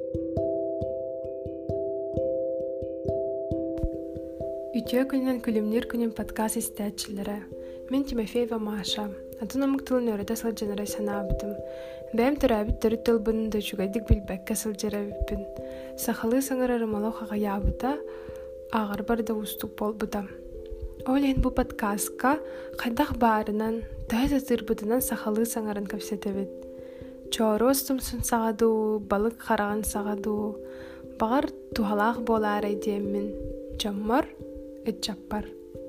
Ütüö күнүнөн күлүмнүр күнүн подкаст истәчиләре. Мен Тимофеева Маша. Атынамык тылын өрөтө сылжанара санаабытым. Бәм төрәбит төрүт тылбын да чугайдык билбәккә сылжарабыппын. Сахалы саңарары мало хагаябыта, агар барда устук болбута. Олен бу подкастка кайдах барынан, тәзә тырбытынан сахалы саңарын көпсәтәбит. Чоростум сын сагаду, балык хараган сагаду, багар тухалах болар әйдеммин. Чаммар Эчаппар.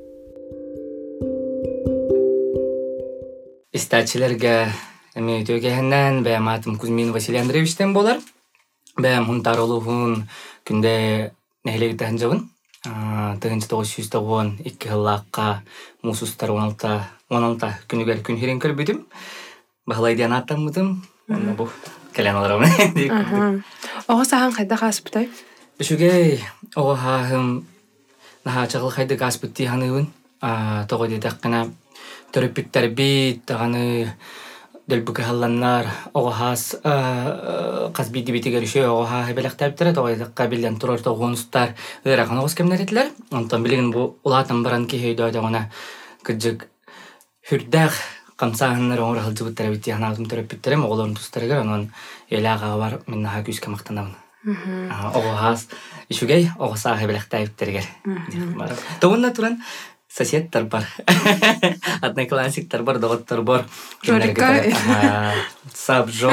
Истәчиләргә эми төгәһеннән бәм атым Кузьмин Василий Андреевичтен болар. Бәм хунтаролуһун күндә нәһлегетән җабын. 1992 еллакка мусустар 16 күнүгәр күн хирен кирбидим. Баһлайдан атамдым. Аны бу каленаларым. Ого сахан кайда хаспытай? Бишүгәй ого хаһым наха чагыл хайда гаспытти ханыбын. Тогоди таккана төрөппиттер бит таганы дөлбүкө халланнар ого хас казбиди битигер шөй ого ха белектәптер тогоди кабилен турар тогонустар ыраган огос кемнәретләр. Онтан билген бу улатан баран ки хейдә дагына кыжык хүрдәх камсаһыннар оңор халҗыбыттар битти ханатым төрөппиттерем оголорун тустарга анан элага бар мен наха күскә мактанабын. Ого хас ишүгәй ого саһы белектәптергер. Тонна туран соседтар бар. Одноклассниктар бар, доктор бар. Сабжо.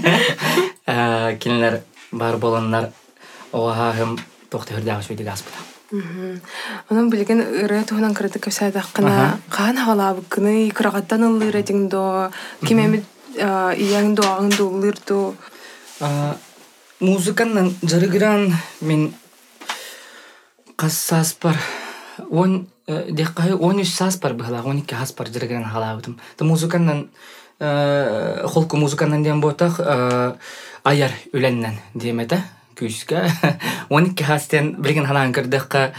Кинлер бар боланнар оғағым тоқты хүрдәғі сөйді ғаспыда. Onun bilgen ırı tuğunan kırıdı kösədəqqına qağın hağalabıqını kırağattan ılır edingdo, kimemid iyəngdo, ağındo ılırdo. Музыканнан жарыгыран мен қассаспар. Он деккай 13 саспар быхла, 12 хаспар жарыгыран халабытым. Та музыканнан холку музыканнан дем ботақ аяр үленнен демеді күйске. 12 хастен білген халан кірдіққа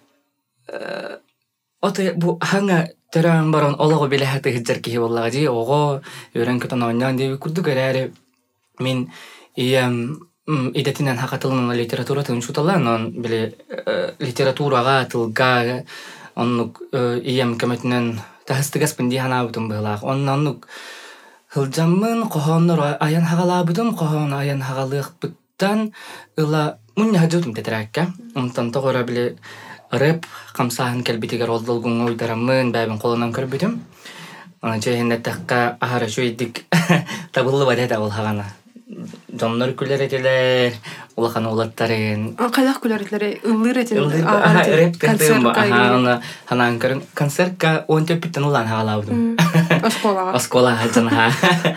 оты бұ хаңа түрән барон олығы білі хәті хиджар кейі боллаға жи оғы өрен күтін ойнан деби күрді көрәрі мен идетинен хакатылын литература тын шуталан он биле литературага тылга оннук ием көмөтүнөн тахыстыгас пинди ханабытым былак оннук хылжаммын кохоннор аян хагалабытым кохон аян хагалыкпыттан ыла муння хажутум тетракка онтан тогора биле рэп камсахан келбитигер олдолгун ойдараммын бабин колунан көрбүтүм ана жэхиннеттакка ахара шойдик табылы бадета ол хагана Жоннор күлер етелер, улахан улаттарын. Қайлақ күлер етелер, ылыр етелер. Концертка. Ханан көрін. Концертка 10 төппіттен улан хағалаудым. Осколаға. Осколаға жана.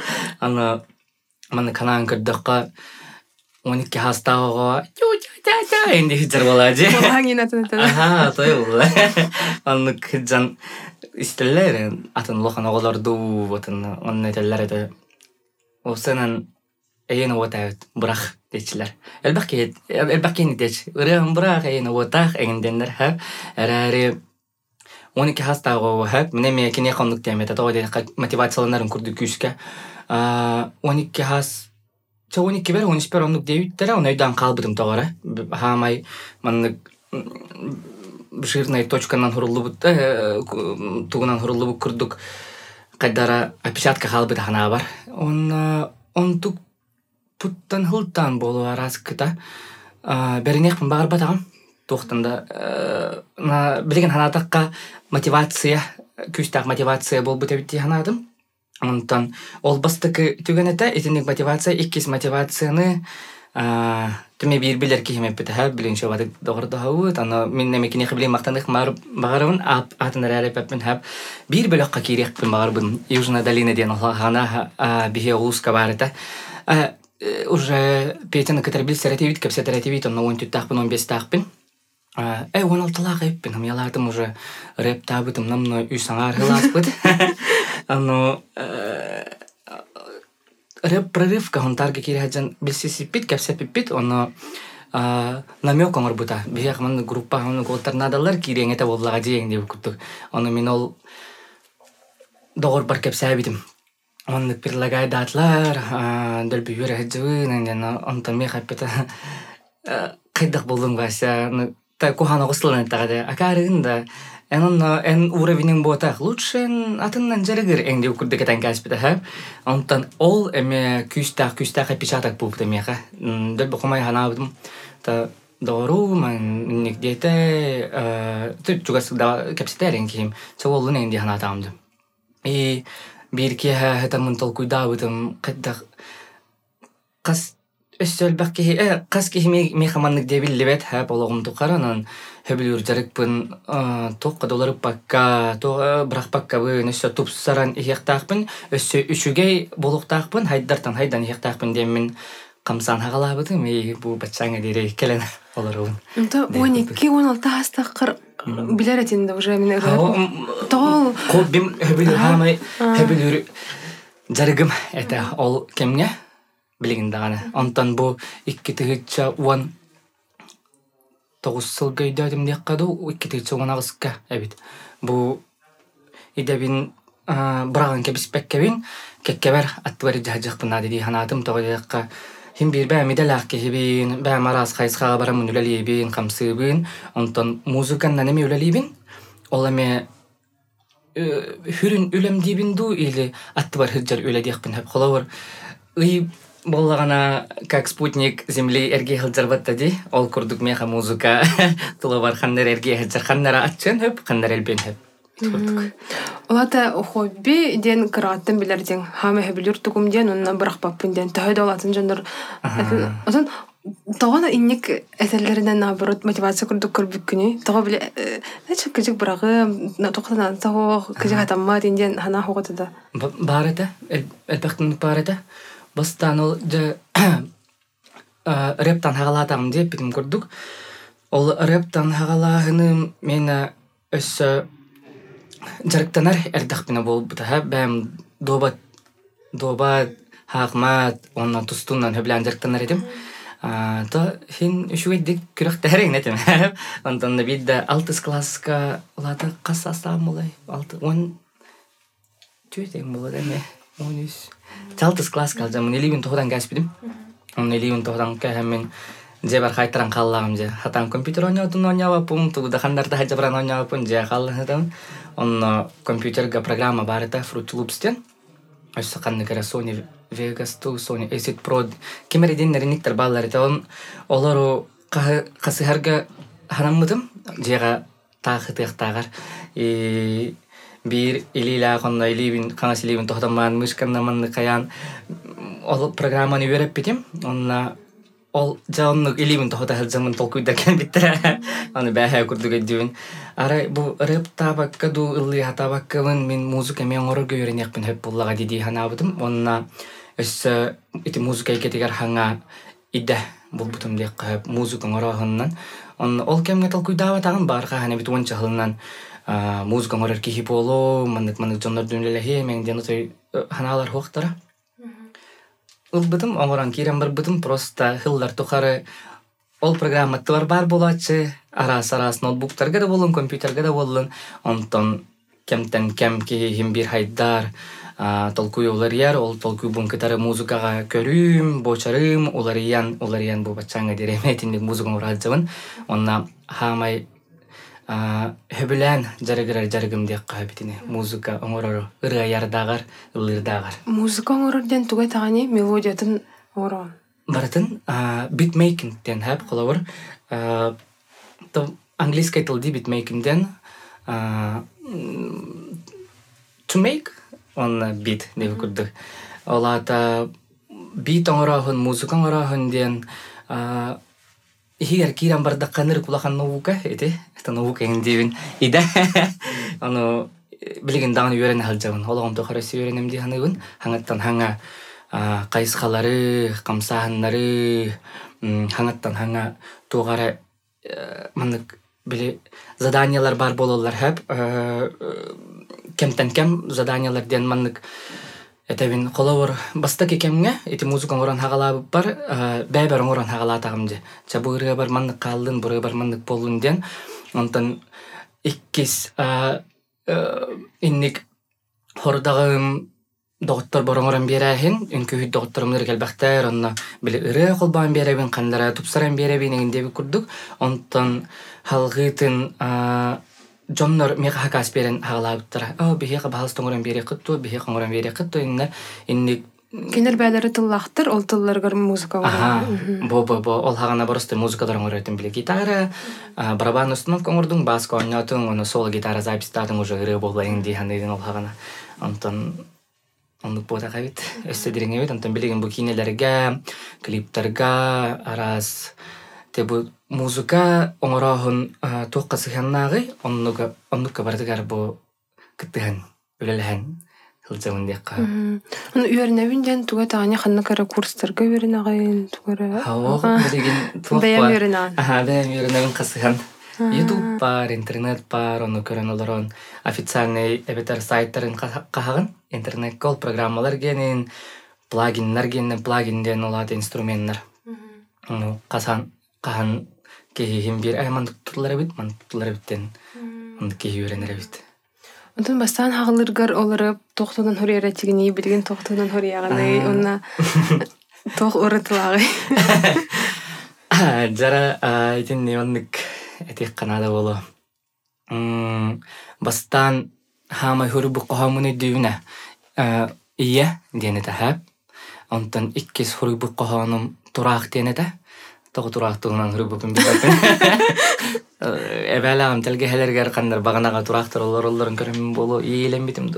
Маны ханан көрдіққа 12 хастауға ю-ю-ю-ю енді хиджар болады. Олаң ен атын етелер. Той болды. Аны хиджан істелер, атын улахан оғаларду, атын етелер еді. Осынан Эйна вотаут брах дечилер. Элбакки деч. Урам брах эйна вотах энгендер хап. Арари 12 хастагы хап. Менеме кине кондук темета тоди мотивацияларын курду күскә. 12 хас 12 бер 13 бер ондук деюттер, онойдан калбыдым тогора. Хамай манны жирный точканан хурулубут тугунан хурулубут курдук. Кайдара опечатка халбыда хана бар. Он тук Туттан хылтан болу араскыта. Беринекпін бағар батағым. Тоқтанда білген ханатаққа мотивация, күстақ мотивация бол бұтабетті ханадым. Онтан ол бастықы түгенеті, етінік мотивация, иккес мотивацияны түме бір білер кеймеп біті әп, білін шабады доғырды хауыт. Мен немекіне қыбілен мақтандық бағарымын, атынар әріп әппін әп. Бір бөліққа керекпін бағарбын. Южна долина ден ғана бихе ғуысқа барыта. Уже Петя на катербил серативит, как все серативит, он на он тутахпин, он без тахпин. Он алталага эппин, я латым уже рэп табытым, нам мной юсангар хиласпыт. Рэп прорывка, он тарга киряджан бисисипит, как все пипит, он намёк он работа. Бияк ман группа, он голтарнадалар кирян это воллага день, где вкуту. Он минол доғыр бар кеп сәбитим. он предлагайдатлар дөлбүр хаджыбын энден онтон ми хаппета кайдак болдум гася та кухана гыслын тагы акарын да эн уровенин ботах лучше атыннан жарыгыр энди укурды кетен каспита ха онтон ол эме күстак печатак булды меха дөлбү кумай ханабым та дору ман никдете тут чугас да капситерин ким чолун энди ханатамды и бирки хатамын толкуйдабытым кайдак кас өссөлбәкки каски ми хаманнык дебиллебет ха бологум тукаранан хөбүлүр жарыкпын $9 пакка то брак пакка бын өссө тупсаран ихтакпын өссө үчүгей болуктакпын хайдан ихтакпын демин камсан хагалабытым и бу бачаңа дире келен олорун то 12-16 астакыр билер этинде уже мен тол кобим хөбүлүр хамай хөбүлүр жарыгым это ол кемге билигин даганы онтон бу 2-9 сылгайдадым деккаду 2-10 агыска эбит бу идебин браган кебиспеккебин кеккебер аттыбар жахжакпына деди ханатым тогодакка хим бир бә медалак кебин бә марас хайсга барамын үлелибин камсыбын онтон музыкандан эме үлелибин ол эме хүрүн үлем дибинду или аттыбар хыджар үледекпин хеп холовор ый боллагана как спутник земли эрге хылжарбатта ди ол курдук меха музыка тулабар ханнер эрге хылжар атчын хөп ханнер элбен хөп Олата хобби ден кыраттын билердин хаме хөбүлүр тугум ден онна бырак баппын ден төһөд олатын жандар отон тогона инник эселлеринен наоборот мотивация курдук көрбүккүнү тога биле нече кыжык бырагы токтан тоо кыжык атамма ден хана хоготуда барата элбактын барата бастан ол же рептан хагалатам деп битим көрдүк ол рептан хагалаһыны мен өссө жарыктанар эрдакпина болбута ха бэм доба хакмат онна тустунан хөблан жарыктанар этим то хин үшүгедик күрөктөрүң нетем онтон бидде 6 класска лата касасам болай 10 түйтең болот эме 6 класс калжам элибин тоғдан каспидим элибин тоғдан камен же бар хайтран каллагым же хатан компьютер ойнабаппын тугуда хандарда хажабран ойнабаппын же калдым онно компьютерга программа бар эте Fruity Loops'тен өссө кандыгара Sony Vegas 2 Sony Acid Pro кемеридиннер никтер баллар эте олору касыхарга ханаммытым жега тахытыктагар бир илила конно илибин каңас илибин тоқтаман мышканнаманны каян ол программаны үйрөп битим онна ол жаонну илибин тоқта хылжамын толкуйда кен биттер аны бәһә курдук эдибин ара бу рэп табакка ду ылли хатабаккабын мен музыка мен орорго үйренекпин хөп буллага диди ханабытым онна өссө ити музыка кетигер ханга иде булбутум дек музыка орохуннан ол кемге толкуйдава тагын барга хана бит онча хылынан музыка орор ки хиполо мандык жоннор дүнлеле мен ден той ханалар хоктара ылбытым оңоран кирен барбытым просто хыллар тухары ол программаттар бар болачы арас ноутбуктарга да болун компьютерга да болун онтон кемтен кем ки хим бир хайдар толкуй олар ол толкуй бункатары музыкага көрүм бочарым олар бу бачаңа дереметиндик музыка оралжабын онна хамай хөбүлән жарыгым дек кабитине музыка оңорор ырыярдагар ылырдагар музыка оңорорден тугай тагани мелодиятын орон баратын битмейкингден хап коловор то английский тилди битмейкингден to make on beat деп көрдүк олата бит оңорохун музыка оңорохун ден Игер киран барда каныр кулахан наука эти это наука индивин иде аны билген дагы үйрен халжабын ологом тохарасы үйренем ди ханыбын хаңаттан хаңа кайсхалары камсааннары хаңаттан хаңа тугара мандык биле заданиялар бар бололар хеп кемтен кем заданиялар ден мандык этебин коловор бастаки кемге эти музыка оран хагалабы бар бәбер оран хагалатагым же чабыры бар мандык калдын буры бар мандык болун ден онтон иккис инник хордагым доктор бороңорон берәһин, үнкүһү докторумнар келбәхтәр, онна биле ыры колбан берәбин, кандара тупсаран берәбин иңдеби курдук. Онтон халгытын Джоннор мега хакас берен хагалаабыттара. Бихега баалстоңорон бере кытту, бихега оңорон бере кытту, инни Кинер бәләре тыллахтыр, ол тылларгар музыка бар. Ол хагана барысты музыкадан оңоротун биле гитара, барабан установка оңордуң, баска ойнотуң, оны соло гитара запистадың уже ыры болла инди ханайдын ол хагана. Онтон ондук бота кайбыт. Өстөдүрүңө бит, онтон билеген бу кинелерге, клиптерге, арас Тебу музыка оңорохун туокка сыханнагы, оннука бардыгар бу кыттыхан, үлелэхэн хылжамын диякка. Оны үйернебинден туга тағаны ханна кара курстарга үйернагайын тугара. Билеген туокка. Бәйәм үйернаган. Бәйәм үйернаган касыхан. YouTube бар, интернет бар, оны көрөн олорон официальный эбетер сайттарын кахагын, интернет кол программалар генин, плагиннар генин, плагинден олады инструменттер. Оны Кахан кехим бир мантутлары бит, мантутлары биттен. Онды кехи үйренер бит. Онтон бастан хагылыргар олары тоқтудан хорияра тигини, билген тоқтудан хорияғаны, онна тоқ ұрытылагы. Жара айтын немандык этек канада болу. Бастан хамай хору бұққағамыны дүйіне ия дені тәхәп. Онтон иккес хору бұққағаным тұрақ дені тәхәп. Тоғы тұрақтығынан хүрбөпін білбәпін. Әбәлағым тәлге хәлергер қандар бағанаға тұрақтыр оларын көрімін болу иелен бітімді.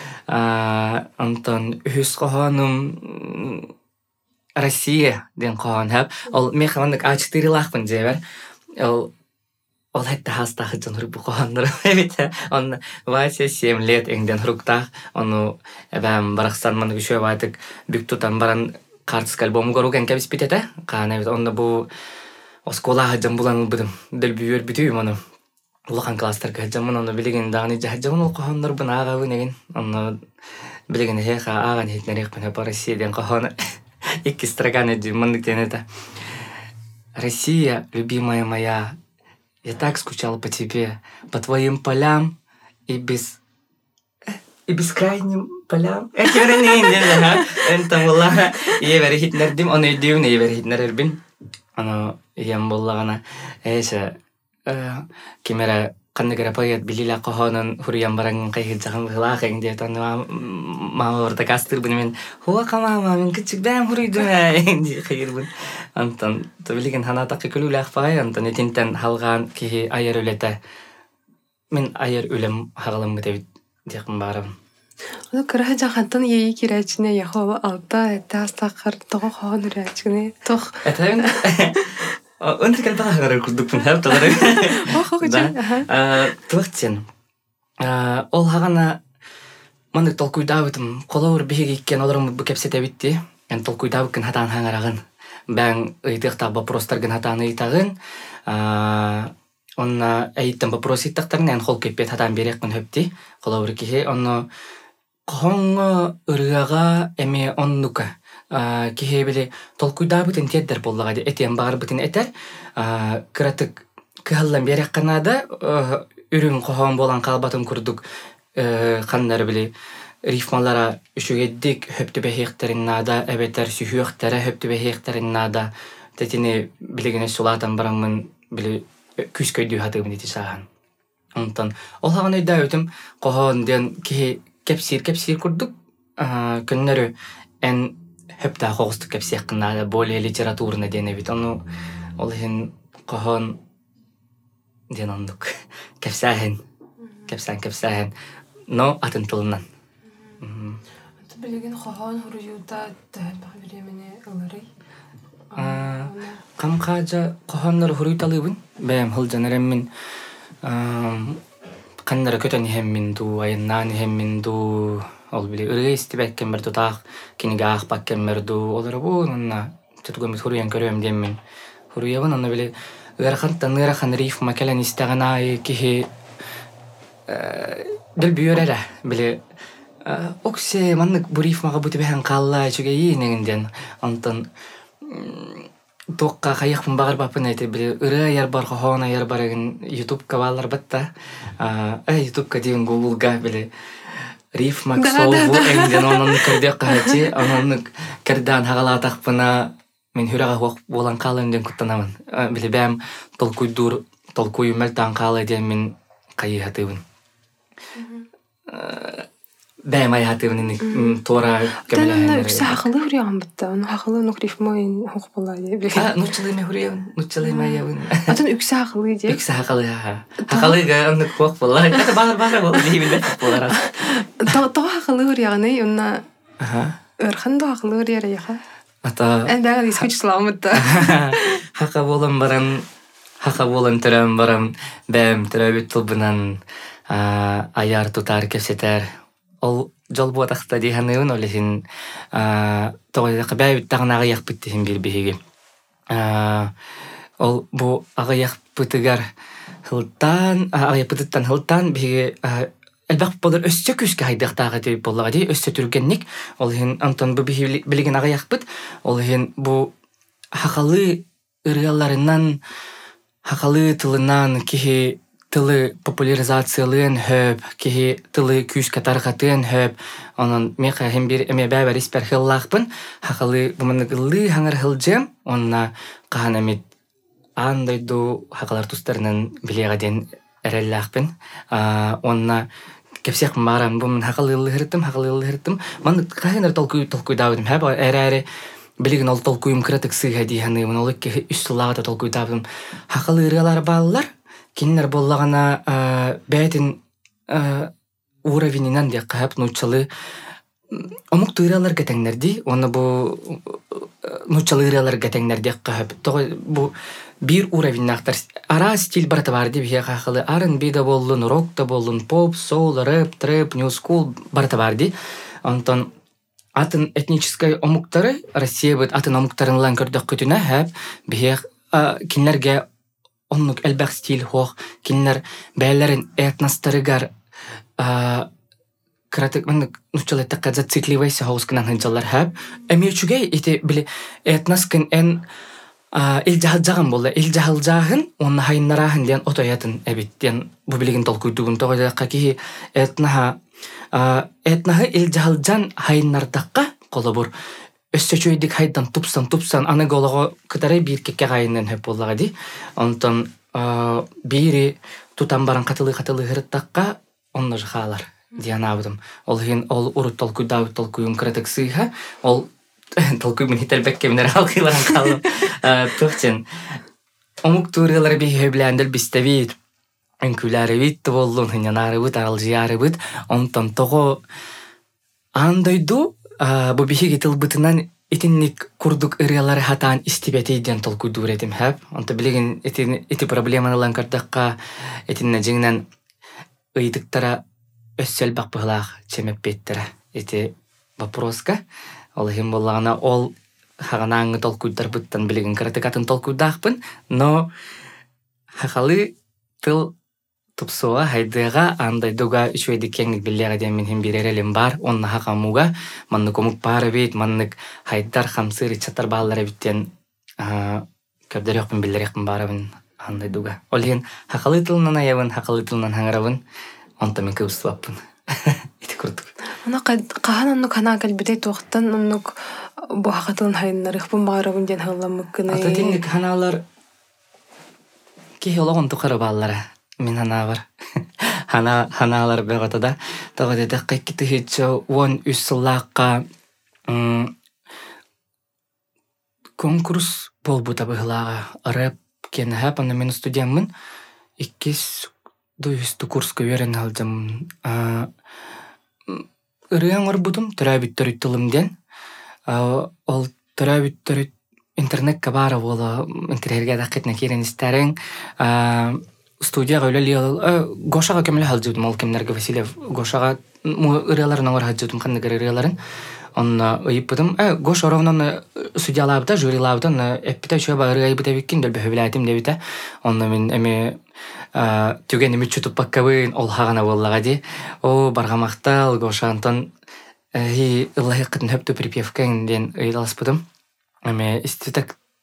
Антон үхіс қоғаным Россия ден қоған әп. Ол мен қамандық А4 лақпын жебер. Ол әтті хастағы жан хүрбі қоғандар. Он 27 лет әңден хүріктақ. Оны әбәм барақстан маңды күші байтық бүк тұтан баран Картск альбом горуген кебис питете. Кана бит онда бу оскола хаджам булан будым. Дел бүйөр бүтү маны. Улахан кластер хаджам маны билеген дагы хаджам ол кохоннор бuna ага неген. Онда билеген хеха ага нетнерек пена по Россияден кохона. Икки строганы димандык тенета. Россия, любимая моя, я так скучал по тебе, по твоим полям и бескрайним полям. Энта болла евер хитнердим, оны үйдеуін евер хитнерербин. Аны ем боллағана әйші кемері қандығыра поет білілі қоғанын хүриян бараңын қайхет жағын ғылақ әңде мама орта кастырбын мен хуақа мама мен күтчік бәм хүрейдім әңде қайырбын. Антон білеген ханатақы күлі ақпағай, антон етінтен халған кейі айыр өлеті. Мен айыр өлем хағылым бұтабит деқін барым. Оны кыраха жахантан ейі керәчіне яхова алта әтті астақыр тоғы қоған үрәчіне тоқ. Әтәйін? Онты кәлпаға ғарар күрдікпін әп талары. Оқ, жан. Тұлықтен. Ол хағана мандық толкуйдабытым. Қолауыр бейге еккен оларым бұл кәпсет әбітті. Ән толкуйдабықын хатан хаңарағын. Бәң ұйтықтақ бапростарғын хатан ұйтағын. Онна әйттен бапрос иттақтарын ән қол көппет хатан берекпін хөпті. Қолауыр кеге. Онна Қоңы ұрыға әме оннука. Кеге біле толкуйда бұтын теддер боллағады. Әтен бағыр бұтын әтер. Кыратық кығылан берек қанада үрін қоғын болан қалбатын күрдік. Қандар біле рифмалара үшігеддік хөпті бәхеқтерін нада, әбетер сүйіқтері хөпті бәхеқтерін нада. Тәтіне білегіне сұлатан барамын біле күш көйді хатығын еті саған. Онтан ол хаған өйді өтім қоғын ден кеге кепсир курдук күннөрү эн хөптө қоғыстық кепсир кынада более литературна дене бит ону ол хин кохон ден ондук кепсахен но атын тылынан билеген кохон хуруюда тәбә времени алары камкажа кохоннор хуруйталыбын бэм хылжанереммин Қандары көтен хеммин ду, айыннан хеммин ду, ол біле ұрғысты бәккен бір тұтақ, кенеге ақ бәккен бір ду, олары бұл, онна тұтығымыз хуруян көрем деммин. Хуруябын, онна біле ұрақантан ұрақан рифма кәлін істіған ай, кехе діл бүйір әрі, біле оксе маннық бұл рифмаға бұты бәхен қалла чүге енегінден, онтан Тоққа қайықпын бағыр бапын әйті біле ұры аяр бар қоғын аяр бар егін YouTube-ка балар бітті. YouTube-ка дейін Google-га біле рифмак солбу эңден онун көрдө кахати онун кердан хагалатакпына мен хүрага хок болан калынден куттанамын билебем толкуй мелтан калы ден мен кайхатыбын бәм айхатыбын тора кемеле үксә хакылы хүряган битте оны хакылы нукрифмой хок була дип нучылы ме хүряган нучылы маябын атын үксә хакылы дип үксә хакылы аны хок була это бар бол дибилет булар то хакылы хүряганы онна өрхөн до хакылы хүряга ата эндәгә дискүч сламытта хака болан төрәм барам бәм төрәбит тулбынан аяр тутар кесетер ол жол буатакта диханын олесин тогы кабай тагнага якпыттын бир биги ол бу ага якпытыгар хылтан аяпыттан хылтан биги элбак болор өссө күскө хайдактага деп боллага ди өссө түргенник ол хин антон бу биги билген ага якпыт ол хин бу хакалы ырыаларынан хакалы тылынан кихи тылы популяризациялын хөп, кихи тылы күскө таргатын хөп, онун мека хем бир эме бәбәр испер хыллакпын, хакалы бумыныгылы хаңар хылжем, онна каханамит андайду хакалар тустарынан билегаден эреллакпын, онна кепсек марам бумын хакалылы хырттым, ман каханар толкуй давдым, хөп эре билеген ол толкуйым кратык сыга диханы, ман олык үстүллага толкуй давдым, хакалы ырыалар баллар кинлер боллагана бәтин уровенинен де кап нучалы омук тыйралар кетеңнерди оны бу нучалы тыйралар кетеңнерди кап бу бир уровеннактар ара стиль барата бар ди бия кахалы R&B да болдун рок да болдун поп соул рэп трэп нью скул барата бар ди антон атын этнической омуктары Россия бит атын омуктарын көрдөк күтүнө хап бия кинлерге оннук элбак стиль хох кинлер бәйләрен этностарыгар кратык мен нучалы такка зацикливайся хаускынан хынчалар хап эмечугей ите биле этноскын эн илжахалжаган болду илжахалжагын онна хайнарахын ден отоятын эбиттен бу билеген толкуйдугун тогойдакка ки этнахы илжахалжан хайнардакка колобур өссөчөйдик хайдан тупсан аны голого кытары бир кекке гайынан хеп боллага ди онтон бири тутан баран катылы хырттакка онно жахалар дианабдым ол хин ол урут толкуйун кратык сыйха ол толкуй мен хителбекке менер алкылан калым тохтен омук турылар би хеблендел биставит энкүләре бит болдун хинянары бит алжияры бит онтон того андойду бу бихиги тылбытынан итинник курдук ырыалары хатаан истибетейден толкуйдуур этим хэп. Онто билеген ити проблеманалан кардакка этинне жиңнен ыйдыктара өссел бакпыгылаах чемеппеттера. Ити вопроска. Ол хим боллагана ол хаганааңы толкуйдар буттан билеген кратыкатын толкуйдаахпын, но хакалы тыл тупсуа хайдыга андай дуга үчөйди кеңник биллега ден мен хим биререлим бар онна хакамуга манны комук бары бит маннык хайдар хамсыры чатар баалары биттен көбдөрөкпүн биллерекпин барабын андай дуга олген хакалы тылынан аябын хакалы тылынан хаңарабын онто мен кыбыстыбаппын ити курдук ана кахан оннук хана калбитей токтан оннук бу хакатылын хайнарыхпын барабын ден хылламыккыны ата тинник ханалар киологон тукара баалара мен хана бар. Ханалар бегатада. Тагы да кайкыты хичо вон үссыллакка конкурс болбута быглага. Рэп кен хапаны мен студентмин. 200 курска берен алдым. Ырыяң орбудум төрөбүттөр тылымден. Ол төрөбүттөр интернетке бара бола интернетке дакетне керен истерин. Студияга өлелиал Гошага кемле халжудум ол кемнерге Васильев Гошага ырыаларын алар хаджудум кандыгы ырыаларын онна ыйыппытым Гоша ровнан судьялабыта жюрилабытан эппите чөба ырыайбыта биккин дөлбө хөбүләтим дебите онна мен эме түген эми чутуп баккабын ол хагана боллага ди о баргамактал Гоша антон ыллахыкытын хөптү припевкен ден ыйдаласпытым эме истетек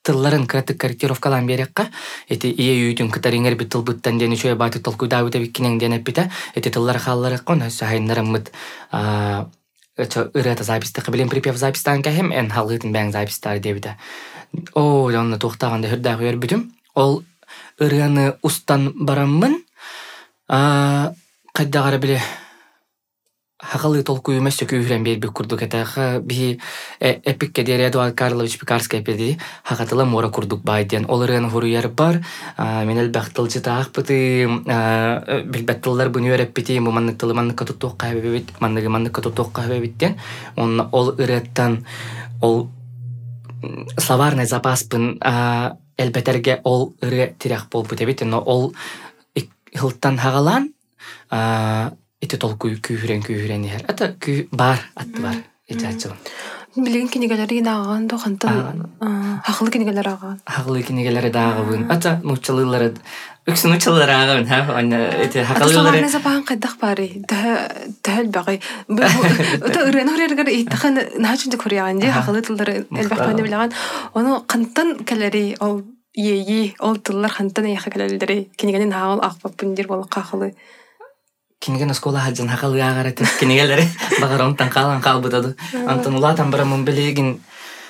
тылларын кратык корректировкалан берекка эти ие үйтүн кытариңер бит тылбыттан дени чөй баты толкуйда үтө биккинен ден эппите эти тыллар халлары кон сайнарымыт ырата записты кабилен припев запистан кахем эн халгытын бәң запистар дебите о онны тохтаганда хырда көрбүтүм ол ыраны устан бараммын кайдагара биле хакалы толку эмес көйрөн бербек курдук этаха би эпикке дер Эдуард Карлович Пекарский педи хакатыла мора курдук байден олырын хуруяр бар менел бактылчы таакпыты билбеттылар буну өреппити муманны тылыманны катуттук кайбебит манны катуттук кайбебиттен ол ыраттан ол словарный запаспын элбетерге ол ыры тирак болбут эбит но ол хылттан хагалан ити толку күйрен ер. Ата бар, атты бар. Ити атчылын. Билген кенегелері дағаған до қантан хақылы кенегелері ағаған. Хақылы кенегелері дағығын. Ата нұчалылары, үксін нұчалылары ағығын. Ити хақылылары... Ата саларны запаған қайдақ бары. Дәл бақай. Ата үрен өрергер еттіған нағачынды көрияған де хақылы тылдары әлбәқ бәні білаған. Оны қантан кәлері ол ейі, ол тыллар қантан аяқы кәлерілдері. Кенегелен ағыл ақпап бүндер болы қақылы. Кинеген оскола хаджан хакалы агарат кинегелери багар онтан калан калбытады. Антон улатан барамын билегин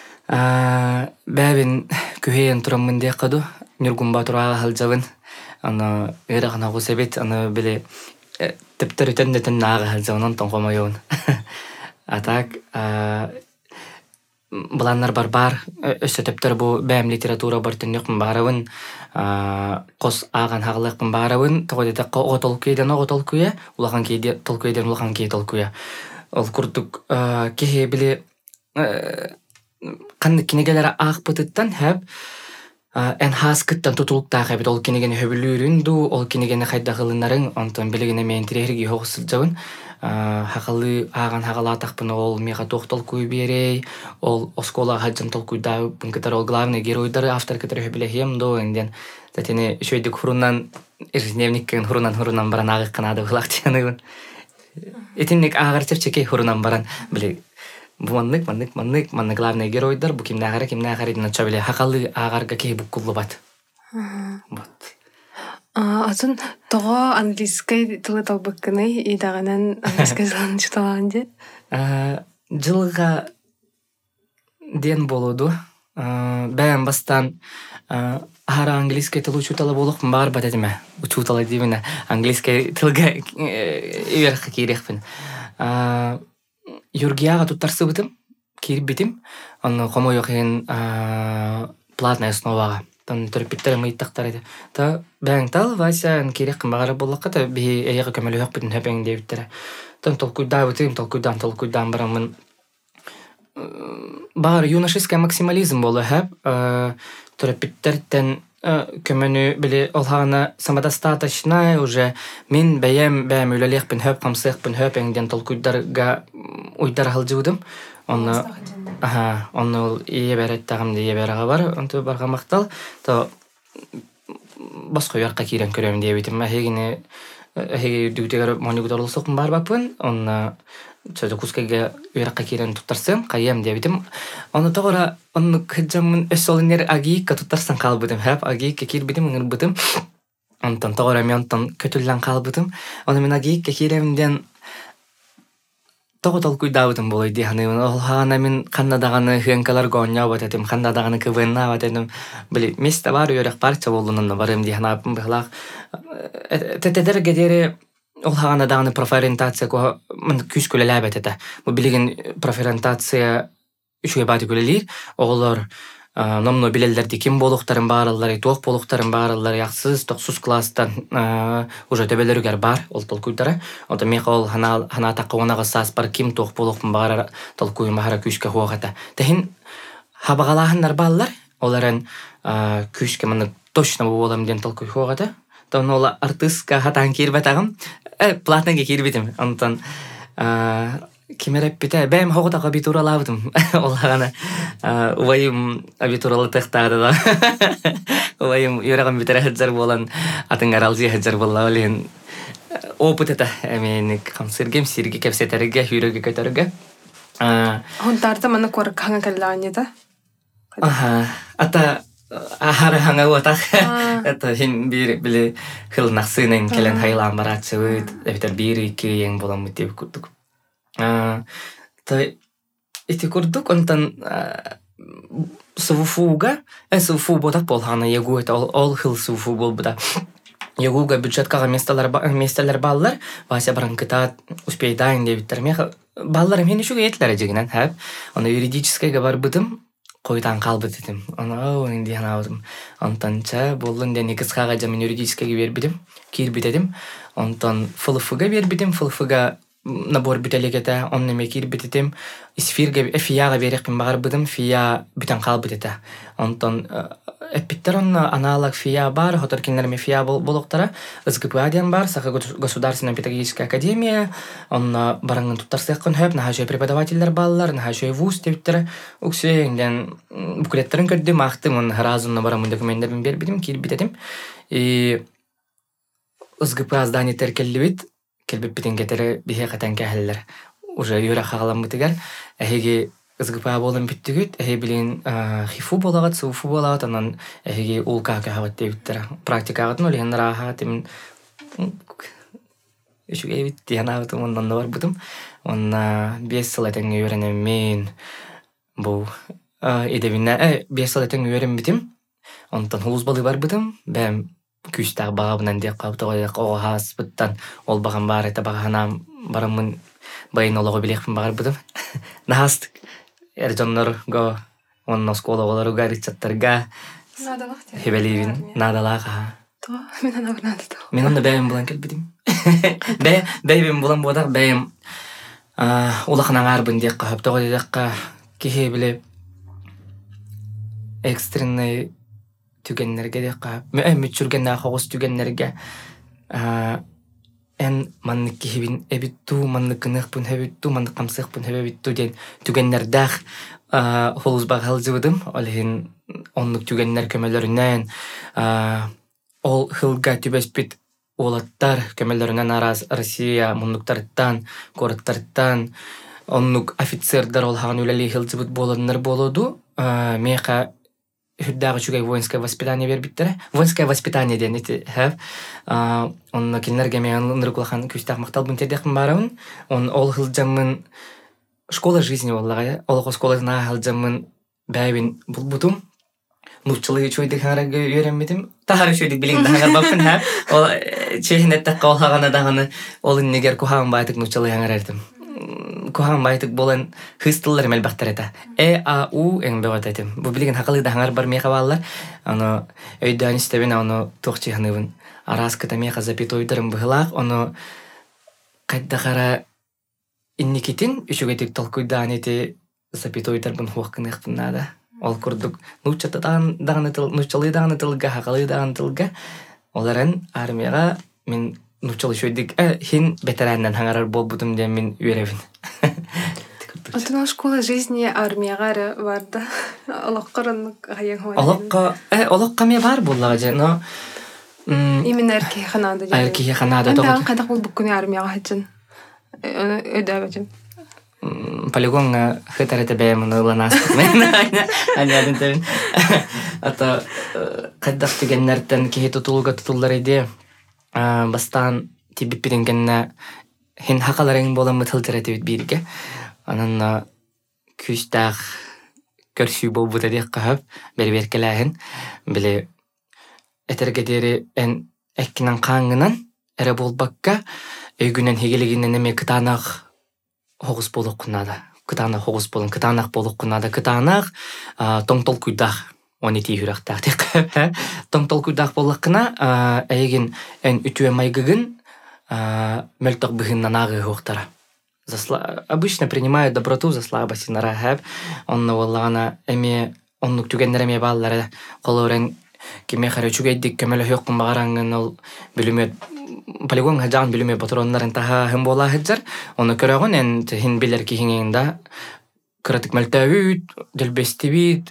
бәбин күһейен турамын де каду. Нургун батурага халжабын. Ана эрагана госебет ана биле тептер өтөндетен нага халжабын онтон комойон. Атак Баланнар бар өсөтөптөр бу бәм литература бартыныкмын барабын кос аган хаглыкмын барабын тогодета отолкуйдан отолкуя улаган кейде толкуйдан улаган кей толкуя ол курдук кеhe биле канды кинегелер акпытыттан хэп эн хаскыттан тутулуктаа хэбит ол кинеген хөбүлүүрүнду ол кинеген хайдагылынарын онтон билегине мен тирерги хогсылжабын хакалы аган хагалатакпын ол мега тохтолкуй берей ол оскола хаджан толкуйда бункатар ол главный геройдар автор который билехем до энден затене шөйдүк хурунан ирневниккен хурунан баран агы канада булактыны этинник агарчырчеке хурунан баран биле маннык главный геройдар бу кимнагара нача биле хакалы агарга ке буккулу бат вот Атын тоға английский тылы талбықкыны идағанан английский жылын жұталаған де? Жылға ден болуду. Бәйін бастан ара английский тылы учуталы болуқпын бар бат әдіме. Учуталы дейміне английский тылға иверққа кейрекпін. Юргияға туттарсы бітім, кейріп бітім. Оны қомой оқиын платная основаға. Тан төрпиттер мыйттактар эди. Та бәң тал Вася керек багара боллакка та би эйге көмөлө ок бүтүн хөпең дебиттер. Тан толкуйдан барамын. Бар юношеский максимализм болу хэп. Төрпиттерден көмөнү биле олхана самодостаточная уже мен бәйем үлелехпин хөп камсыхпин хөпеңден толкуйдарга уйдар халжуудум. Оны ие береттагым дие берага бар, онто барга мактал, то басқа ярка кирен көрөм дебитим. Хегине дүтегер монигудорлсокун бар бапын, онна чөдө кускеге ярка кирен туттарсам, кайем дебитим. Оны тогора оны кыжамын өсөлүнөр агийка туттарсан калбыдым, хап агийка кирбитим, ыңырбытым. Онтон тогора мен онтон көтүллөн калбыдым. Оны мен агийка киремден Тоготол куйдабытым болой диханы. Ол хана мен кандадаганы хенкалар гоня батетим, кандадаганы квенна батетим. Били месте бар өрөк парча болунун барым дихана апым быхлак. Тетедер гедери ол хана даганы профориентация ко мен күскөлө лабетете. Бу билген профориентация үчүгө баты көлелир. Оголор номно билелерди ким болуктарын бааралары, тоқ болуктарын бааралары яксыз, токсуз класстан уже төбөлөрүгөр бар, ол толкуйдары. Ота мекол хана такуунага сас бар ким тоқ болуктун баара толкуй махара күшкө хуагата. Техин хабагалахындар баллар, оларын күшкө мен точно болом ден толкуй хуагата. Тон ол артистка хатан кирбетагым, платныга кирбетим. Онтон кимереппите бэм хогота абитуралабдым. Олгана уайым абитуралы тактады да. Уайым юраган битере хаджар болан атыңар алжы хаджар боллалын. Опыт это мен камсыргем сирги кепсетерге хүрөгө көтөргө. Хонтарда мана корк ханга каллаан да. Ата ахары хаңа отах. Это хин бир биле хылнаксынын келен хайлан барачыбыт. Эбитер бир iki ең боламыт деп курдук. Той ити курдук онтан суфуга, суфу бодак болхана ягу это ол хыл суфу болбуда. Ягуга бюджеткага местелер баллар, Вася баранкыта успейдайын дебиттер. Меха баллар мен үшүгө етлер жегинен хэп. Оны юридическайга барбыдым, койдан калбыт дедим. Оны инди анабыдым. Онтанча болдун ден экискага жамын юридическайга бербидим, кирбит дедим. Онтан ФЛФга бербидим, ФЛФга набор бүтелегете, он неме кирбит дедим. Исфирге фияга берекпин багарбыдым, фия бүтен калбыт дете. Онтан эппиттерон аналог фия бар, хоторкинлерме фия болуктара, СГПА-ден бар, Саха государственная педагогическая академия, он барангын туттарсыяккын хөп, нахашой преподавательдер баллар, нахашой вуз дептер, уксуенден буклеттерин көрдүм, актым, он разумно барамын документтерин бербидим, кирбитедим. И СГПА здание теркеллибит, келбиппитин кетери бихе катан кахеллер. Уже юра хагаламбытыгар, эхеги СГПА болын биттигит, эхе билин хифу болагат, суфу болагат, анан эхеги улка кахават дебиттер. Практикагатын олеген рахат, имин үшүге бит диянабытым, ондан да барбытым. Онна 5 сыл этен үйренем мен бу эдебинне 5 сыл этен үйрен битим. Онтан хулуз балы барбытым, бәм күстәг багабынан дек каптыгы оғас бұттан ол баған бар әті бағанам барамын байын олығы білекпін бағарбыдым. Нахастық әржонлар го онна скола олару гаричаттарға хебелейбін надалаға. Мен ана бұрнады да. Мен онда бәйім болан келбедім. Бәйім болан бодақ бәйім олақынан арбын дек қаптыгы декқа кеге біле экстренный түгеннерге де қап. Мүтчүргенне қоғыз түгеннерге ән манны кехебин әбітту, манны кынықпын әбітту, манны қамсықпын әбітту ден түгеннердәқ холуз бағал жывыдым. Олығын онлық түгеннер көмелерінен ол хылға түбеспіт олаттар көмелерінен араз Россия мұндықтарыттан, корыттарыттан онлық офицердар олғаған өлелі хыл жывыд болыныр болуду. Меқа Хүддағы чугай воинское воспитание бербиттер. Воинское воспитание ден ити хэв. Он келнерге мен ныркулахан күстақ мақтал бунтедекін барауын. Он ол хылжамын школа жизни боллага. Ол школасына хылжамын бәйбін бұлбутум. Нуччылы чуйдық хаңарага үйренмедім. Тахары чуйдық білің дағар бапын хэв. Ол чехінеттаққа ол хағаны дағаны ол иннегер кухағын байтық нуччылы хаңарардым. Кухан байтык болан хыстылар мелбақтар ета. А, У ең бөгат етім. Бұл білген хақылыда хаңар бар меха баллар. Оны өйдан істебен, оны тоқчы ханывын. Араскыта меха запитойдырым бұғылақ. Оны қайда қара инникетін үшігетік толкуйдан еті запитойдар бұн хуаққын еқпін нада. Ол күрдік нуччалы дағаны тылға, хақылы дағаны тылға. Оларын армияға мен нуччалы шөйдік хин ветераннан хаңарар бол бұдым ден мен үйревін. Отына школа жизни армияға барды. Олаққарынық ғайын хуайын. Олаққа ме бар боллаға же, но... Именно әркей қанады. Әркей қанады. Әнді қайдақ бол бүккіне армияға хәтжін. Өді әбәжін. Полигонға хытареті бәйімін ұланастық мен. Әнядың тәбін. Ата қайдақ түгеннерден кейі тұтылуға тұтылдар еді. Бастан тибіп бірінгенне хин хақаларың болан мұтылдыр әтебет бірге. Анан күстақ көрсүй бол бұта дек қағып бәрі-беркеләхін. Біле әтергедері ән әккінен қаңынан әрі бол баққа өйгінен хегелегінен әме кытанақ хоғыз болық құнады. Кытанақ хоғыз болын, кытанақ болық құнады. Кытанақ тоңтол күйдақ. Оны тей хүрақтақ дек. Тоңтол күйдақ болыққына әйген ән үтуе майгығын мөлтақ бұғыннан ағы хоқтара. Обычно принимают доброту за слабость на рахаб. Он валлана эми оннук түгеннер эми баллары колорен кеме хары чугайдик кемеле хөккүн багарангын ол билиме полигон хаджан билиме патроннарын таха хем бола хаджар. Оны көрөгөн эн хин билер ки хиңинда кратык мөлтөбүт делбестибит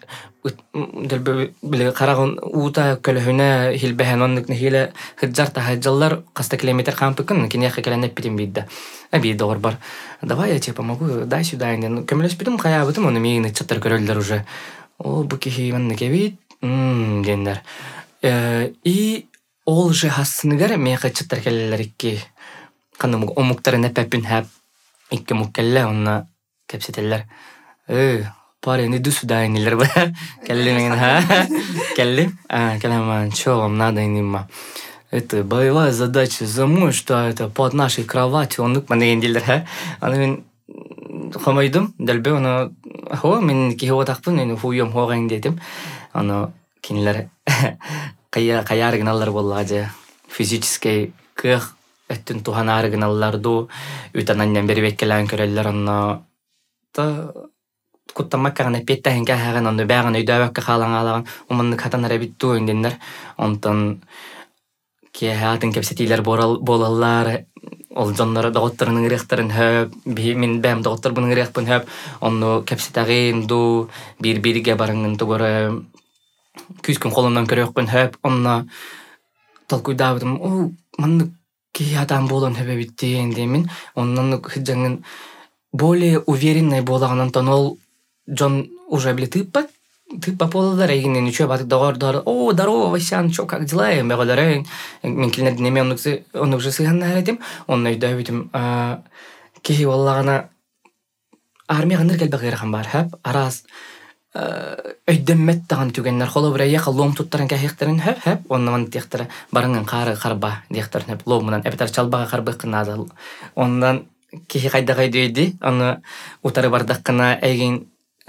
биле карагын ута көлөһүнө хилбеһен оннук нехиле хаджар тахаджаллар каста километр кампыкын кинеха келенеп битим бидда. Аби доор бар. Давай я тебе помогу, дай сюда. Көмөлөс битим кая битим, оны мени чаттар көрөлдөр уже. Ол бу кихи мен некебит, Дендер. И ол же хассыныгар меха чыттар келелер икки. Каным омуктарын эпепин хап икки муккелле онна кепсетеллер. Паре не до свидания, ба. Келлимен келли. Келлиман, чё вам надо инима? Это боевая задача зимой, что это под нашей кроватью. Он мен дилер, Аны хамайдым, дәлбе оны мен кихо тақпын, хуйым хоғайын дедім. Аны кинлер қаярыгналар боллады. Физический кых эттін туған арыгналарду үтананнан бері беккелән көрелер. Аны куттамаккағаны петтәхін кәхәғын, аны бәғын өйдәвәккі қалан алаған. Уманны қатанары битту өнденлер. Онтан кеһатын кепсетилер болалар. Ол жоннары доғыттарының ырықтарын хөп, мен бәм доғыттар бұның ырықпын хөп, оны кәпсетағын ду, бір-бірге барыңын тұғыры, күз күн қолымдан көріқпін хөп, онына талкуйда бұдым, о, манны кей адам болан хөп әбіттейін деймін, онынан хыджаңын более уверенный болағынан тон ол жон уже білі тыппа полыдар, егінен үші батық доғырдар, о, здорово, Васян, чё, как дела? Меғаларайын, мен келінерді неме онық же сыйғанна әредім, онын өйді өйтім, кей олағана армияға ныр кәлбі ғырған бар, хөп, араз өйдіммет тағын түгенлер, қолы бір әйеқа лом тұттарын кәйіқтерін хөп, онын тектірі барыңын қарба дектірін хөп, ломынан, әбітар чалбаға қарбыққын ады, ондан кей қайда өйді, оны ұтары бардаққына әйген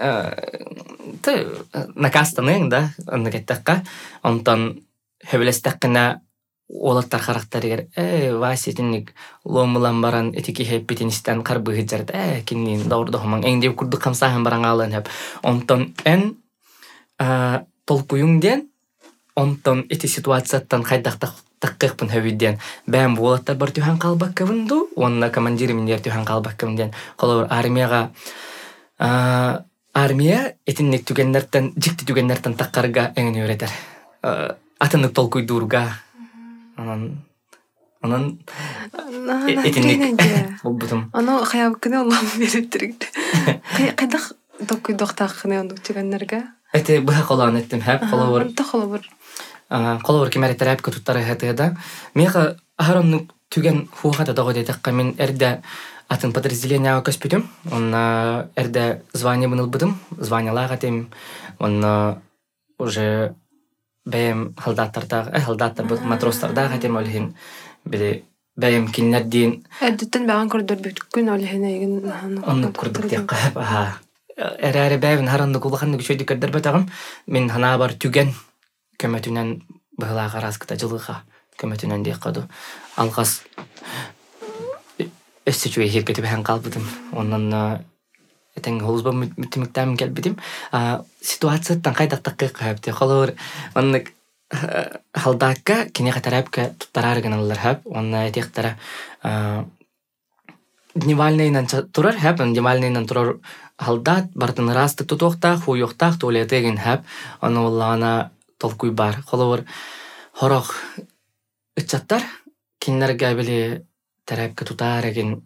накастаның, да, оны кеттаққа, онтан хөбілестаққына олаттар қарақтарығыр, Вася, тіннік ломылан баран этики хеппетіністен қарбығы жарды, кеннен дауырды хоман, әңдеп күрді қамсағын баран алын хеп. Онтан ән толкуюңден, онтан эти ситуацияттан қайдақтаққықпын хөбідден, бәм олаттар бар түйхан қалбақ көбінду, онына командиріміндер түйхан қалбақ көбінден, қолауыр армия этинник түгеннерден, жикти түгеннерден таққарға әңін өретер. Атынық толкуйдурға. Анан этинник болбутум. Аны қаябы күні Аллахым беріп түргді. Қайдақ толкуйдуқтаққыны ондық түгеннерге? Әті бұға қолағын еттім, әп қолауыр. Анта қолауыр. Қолауыр кемәреттер әп көтуттары әтіғада. Меға ахаронның түген хуғата доғы дейдіққа мен әрді атын подразделения көспүтүм, он эрде звание быныл быдым, звание лагатым, он уже бәйім халдаттар бұд матростарда ғатым олхин, білі бәйім кинлерден. Әддеттен бәған көрдір бүткін олхин егін. Оны көрдік деп қап, әрі бәйім харанды құлғанды күшөйді көрдір бәтағым, мен хана бар түген көмәтінен бұғылаға разқыта жылыға көмәтінен дей қаду. Алғас өссічуе херкеті бәйін қалбыдым. Онын әтен ғолызба мүттіміктәмін кәлбідім. Ситуацияттан қайдақтаққы қайыпты. Қолауыр, онын халдаққа кене қатарапқа тұттарарыған алылар хәп. Онын әтектері дневальнайынан тұрар хәп. Дневальнайынан тұрар халдат, бартын растық тұтуқтақ, хуйуқтақ, туалетеген хәп. Оны олағана толкуй бар. Қолауыр, хорақ үтчаттар, кенлерге білі тәрәпкі тұтарыген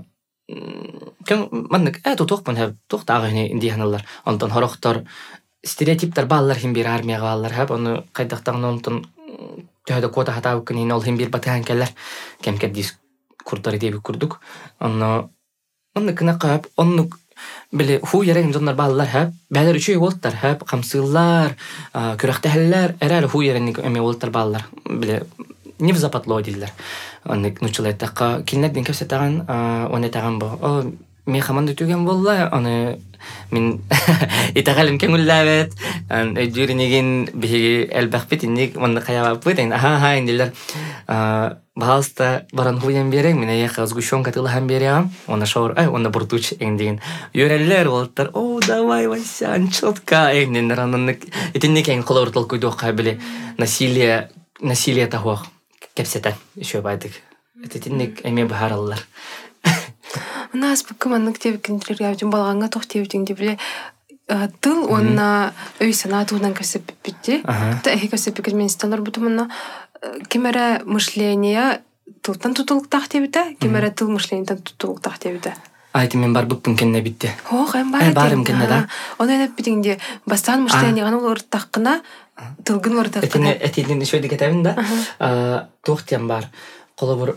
маннык тұтуқпын әп тұқтағыны индияналар. Онтан хорақтар стереотиптар балалар хим бір армияға балалар әп. Оны қайдақтағын онтан түйеді кота хатау күнейін ол хим бір батыған кәлер. Кәмкәддес күрдары дебі күрдік. Оны кінаққа әп. Оны білі ху ереген жонлар балалар әп. Бәлер үші олттар әп. Қамсылар, күрақтәхілер. Әрәлі ху еренік әме олттар балалар. Білі не в западло дилер. Он нучила така киннерден кепсетаган, он этаган бо. Мен хаманды түген болла, оны мен итагалым кеңүлләбет. Жүрінеген биги элбәхбет инник, оны қаябапбет. Ха индилер. Балста баран хуян берең, мен аяқа сгущенка тылыхан берем. Оны шаур, оны буртуч эндеген. Юреллер олттар, о, давай, Васян, чотка. Эндендер, анын итинник эң қолауыр толкуйду қабілі насилие тахуақ. Кепсетен, еще байдык. Это тинник эме бахар аллар. У нас букыманнык тебекендер явдым балганга тох тебдин дибле тыл онна өй санатудан көсөп битти. Та эхи көсөп экономисталар бутумна кемере мышление тылтан тутулуктак тебите, кемере тыл мышлениеден тутулуктак тебите. Айты мен бар букпун кенне битти. Хо, хэм бар. Барым кенне да. Оны деп битинде бастан мышление гана ул ырттаккына тылгын орта. Этинен шөйдік әтәбін да. Тоқтен бар. Қолы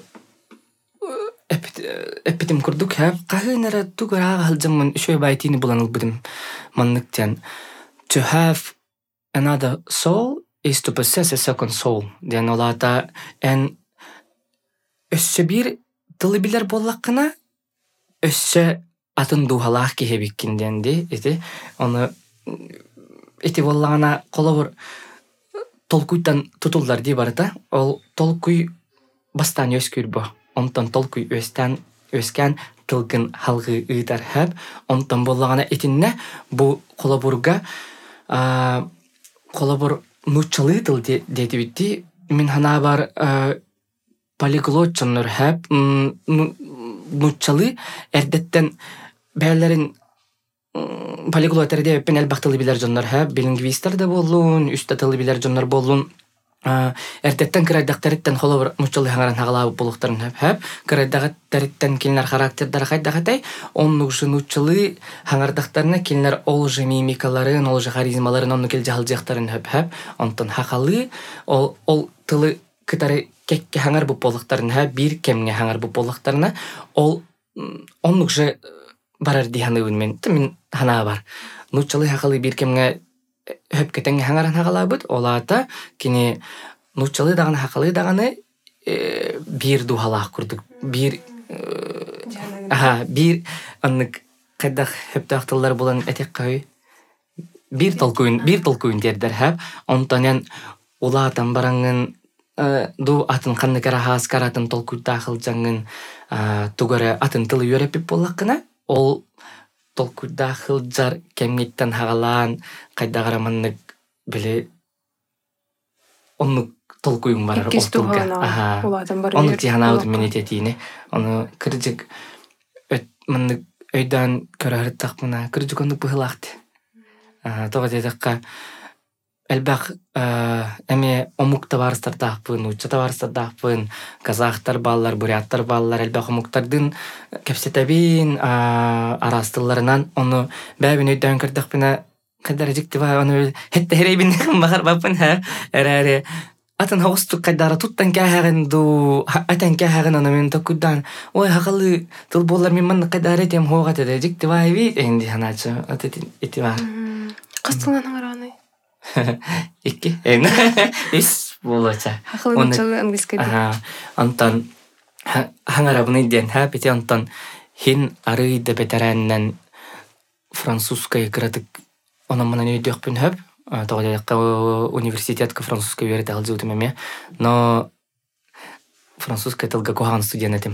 эппитим курдук хәп кахынара тугара халжамын шөй байтини буланыл бидим манныктан. To have another soul is to possess a second soul. Ден олата эн өссө бир тылы билер боллаккына өссө атын духалах кехебиккинден ди эти оны эти боллагана колобур толкуйдан тутулдар ди барыта. Ол толкуй бастан өскүрбө. Онтон толкуй өскән тылгын халгы ыйдар хэп. Онтон боллагана этинне бу колобурга колобур нучалы тыл деди битти. Мин хана бар полиглот жоннор хэп. Нучалы эрдеттен бәлерин полиглот эрде пенел бактылы билер жоннор хэп. Билингвистер да боллун, үстө тылы билер жоннор боллун. Эрдеттен кырайдактарыттан холовар мучалы хаңаран хагалабы болуктарын хэп. Кырайдактарыттан килнер характердары хайдагатай. Оннук жы нучалы хаңардактарына килнер ол жы мимикаларын, ол жы харизмаларын, онну кел жахал жактарын хэп. Онтон хакалы ол тылы кытары кекке хаңар бу болуктарын хэп. Бир кемге хаңар бу болуктарына ол оннук жы барар диханыбын мен хана бар. Нучалы хакалы бир кемге höp ketenge hangaran hagalabıt olata kini nutçalı dağını hakalı dağını bir duhalak kurduk. Bir anlık kadar höp dağıttılar bulan etek kayı bir tolkuyun derler hep. Ondan olatan barangın du atın kanlı kara has karatın tolkuy dağıl jangın tugara atın tılı yörepip bolakına ol толкуда хылжар кемгеттен хагалан кайдагара маннык биле оннук толкуюң барар октулга. Оннук тиханауды менететине. Оны кыржык маннык өйдан көрәрет тақмына кыржык оннук быхылақты. Тога дедекка элбак эме омукта барыстар тақпын, учата барыстар тақпын, казахтар баллар, буряттар баллар, элбак омуктардын кепсетебин арастыларынан оны бәбін өйден көрдіқпіна қайдары жіктіба, оны хетті херейбін бағар бапын, әрәрі атын хоғыстық қайдары туттан кәхәғын ду, атын кәхәғын оны мен токудан, ой хақалы тұл болар мен манны қайдары етем хоғат еді, жіктіба еби, әйінді ханачы, еті бар. Қастылан аңыраны? Iki, is bolacak. Haklı nutçalı angliskaydı. Ondan hangarabını diyen hep eti ondan hin arıydı beterenden Fransuskayı kıradık. Onun bana ne ödüyokpun hep. Toğdayakka universitetka Fransuskayı verdi alcı ödümeme. No Fransuskayı tılga kohan stüdyen edim.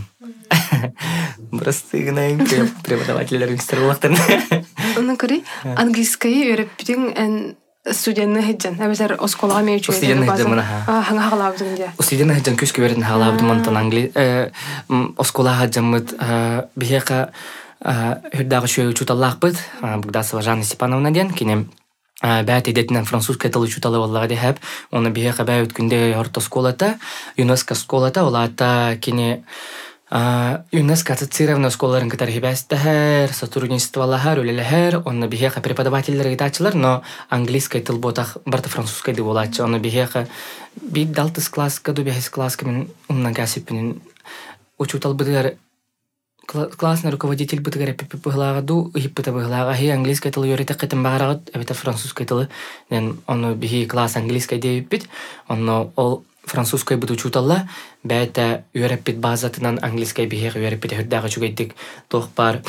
Burası gınayım преподавательlerim ister olaktan. Onun kırı angliskayı öğretpidin en студентны хеджен. Әбезер осколага меючу. Студентны хеджен мына. Хаңа хагалабдың де. Студентны хеджен күскө бердин хагалабдым антан англи. Осколага хеджеммит бихека хүрдагы шөй учуталлакпыт. Бугдасова Жанна Степановна ден кинем бәт едетинен французская тылы учуталы боллага де хеп. Оны бихека бәй өткүндө орто школата, ЮНЕСКО школата, олата кине ЮНЕСКО ассоциированный школаларын кытары хибәстәһәр, сотрудничестволаһар, үлеләһәр, онны бихека преподавательләр гитачылар, но английский тыл ботах барта французский ди болачы. Онны бихека бит далтыс класска, ду бихес класска мен умна гасипин учутал быдыр классный руководитель быдыр пипи быглага ду хиппета быглага хи английский тыл йөрите кытым багарагыт, эбета французский тылы. Ден онны бихи класс английский ди бит, онны ол французской буду чуталла, бәйті үйереппет базатынан английской бігеғ үйереппет хүрдағы чугайдік тоқпар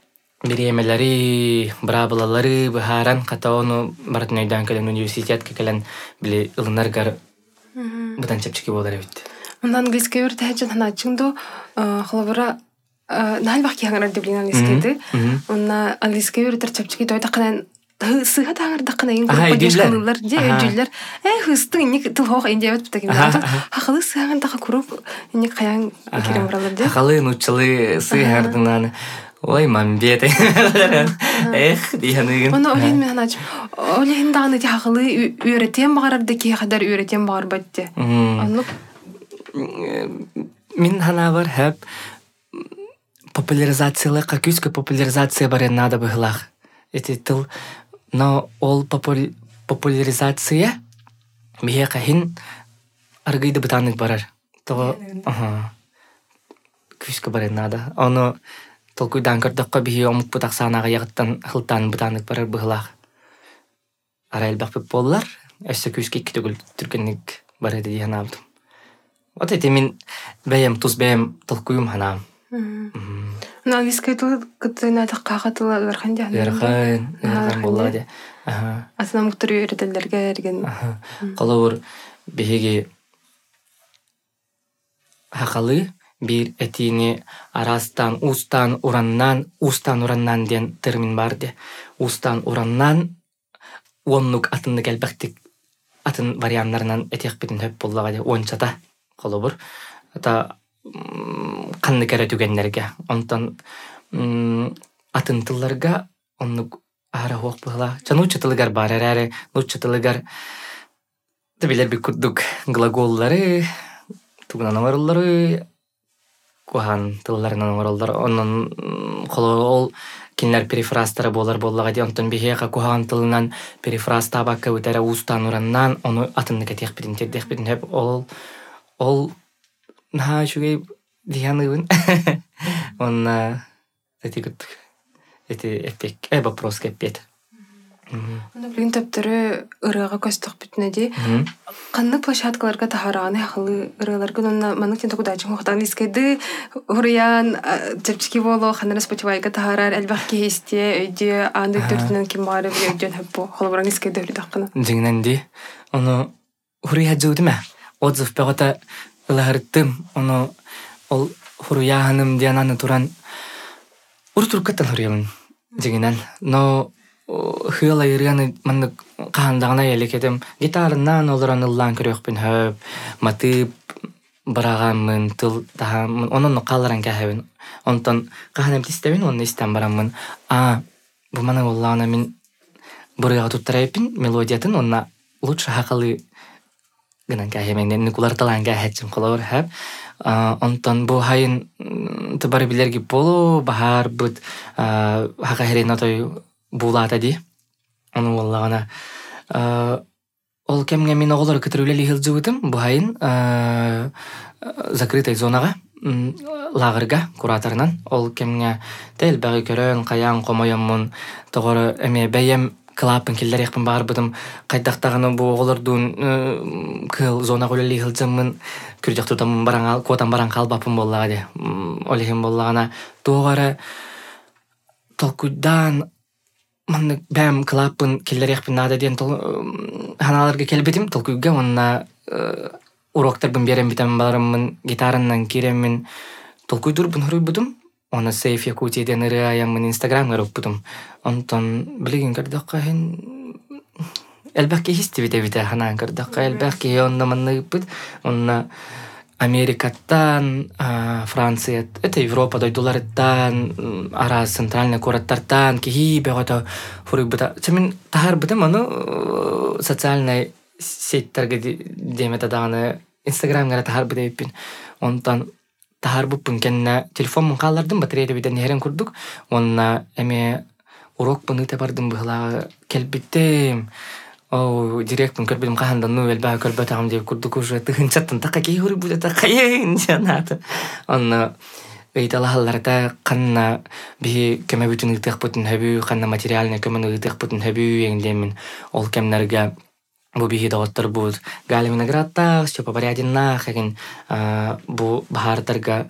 биремелери, брабылалары, бұхаран, қата оны бартын өйдан кәлін университетке кәлін біле ылынарғар бұдан чапчыки болар өйтті. Онда английской өрті әджен ханатчыңды қылыбыра нәл бақки хаңарар деблин английскойды. Онда английской өртір чапчыки дойда қанан сыға таңырдақына ең көп подешкалылар, өйділер. Хыстың не тыл хоқ енде өтіп тәкім. Хақылы сығағындағы көріп, не қаян керем бұралар де. Хақылы нұтчылы сығағырдыңнан, ой, мамбет. Дейханыгын. Оны олейін мен аначым. Олейін дағыны де хақылы үйретен бағарарды кей қадар үйретен бағар бәтті. Мен хана бар хәп популяризациялы, қакүйскі популяризация бар еннада бұғылақ. Эти тыл но ол популяризация бие кахин аргыйды бытаннык барар. То күшкө барар нада. Оны толкуйдан көрдөккө бие омук бутак санага ягыттан хылтан бытаннык барар быгылак. Арайыл бакпык боллар. Эссе күшке түгүл түркенник бар эди янабыт. Вот эти мен бәйем туз бәйем толкуйум ханам. Английский тыл кытына такка тыл архан жан. Ярхан боллади. Асына муктур үйрөтөлөргө эрген. Колор беге хакалы бир этини арастан устан ураннан ден термин барды. Устан ураннан оннук атынны келбектик атын варианттарынан этек битин хөп боллагы ончата колобур. Ата канны кере түгеннерге. Онтан атын тылларга оннук ара хоқ была. Чануча тылыгар бар эре, нуча тылыгар билер бик курдук глаголлары, тугунан амарыллары, кухан тылларынан амарыллар. Оннан колол кинлер перифрастары боллагы де. Онтан бихега кухан тылынан перифраз табакка өтәрі устан ураннан оны атынны кетек битин тердек битин хөп ол наха шугай дияныгын. Онна эти эпик вопрос кепет. Оны билген төптөрү ырыга көстөк бүтнеди. Канны площадкаларга тахараны халы ырыларга онна манык тен токудачы хохтан искеди урян чепчики боло ханара спочивайга тахарар элбакки хесте өйдө анды төртүнөн ким бары өйдөн хаппо холбуран искеди өлүдаккына. Жиңненди. Ону урия жудума. Отзыв пегота ыларыттым. Ону ол хуруя ханым диананы туран уртуркаттан хуриямын. Жиңнен. Но хыла иряны манны каандагына элекетем гитарынан олоран ыллан көрөкпүн хөп матып бараганмын тыл тахамын онун каларан кахабын онтон каханем тистебин онун истен барамын бу мана оллана мен бурга туттарайпин мелодиятын онна лучше хакалы гынан кахемен никуларталан кахачым колор хөп онтон бу хайын тыбары билерги болу бахар бут хакахерен атой булата ди. Ону воллагана ол кемге мен оголор кытырылели хилжыбытым бухайын закрытой зонага лагырга кураторунан ол кемге тел багы көрөн каян комояммун тогору эме бәйем клапын киллер якпын барбытым кайдактаганы бу оголордун кыл зонага öleli хилжыммын күрдүктүтам баран котан баран калбапын боллага ди. Олехим боллагана тогора толкуйдан манны бәм клапын киллер якпын нада ден ханаларга келбетим толкуйга онна уроктарбын берем битем бараммын гитараннан киреммин толкуйдурбун хуруйбутум оны сейф якутияден ырыаяммын инстаграмга руппутум онтон билигин кырдакка хен элбакки хистибите ханан кырдакка элбакки онна манныйппыт онна Америкаттан, Франция, это Европа, дойдуларыттан, ара центральный кураттартан, кихи бегото фурибыта. Чамин тахар бытым аны социальный сетьтерге деметаданы Инстаграмга тахар быта иппин. Онтан тахар буппын кенне телефон mun каллардым батарея биден херен курдук. Онна эме урок пыныта бардым быхла келбиттем. Директор көрбедім қахандан нөвел бағы көрбет ағым деп күрдік уже тұғыншаттын таққа кей хүрі бұды таққа ең жанаты. Онны ыйталахаларда қанна бі көмі бүтін ұйтық бұтын хөбі, қанна материалны көмін ұйтық бұтын хөбі еңдемін. Ол кемнерге бу бихи дағыттар бұд. Гали виноградтақ, сөпа барядиннақ, егін бұ бағардарға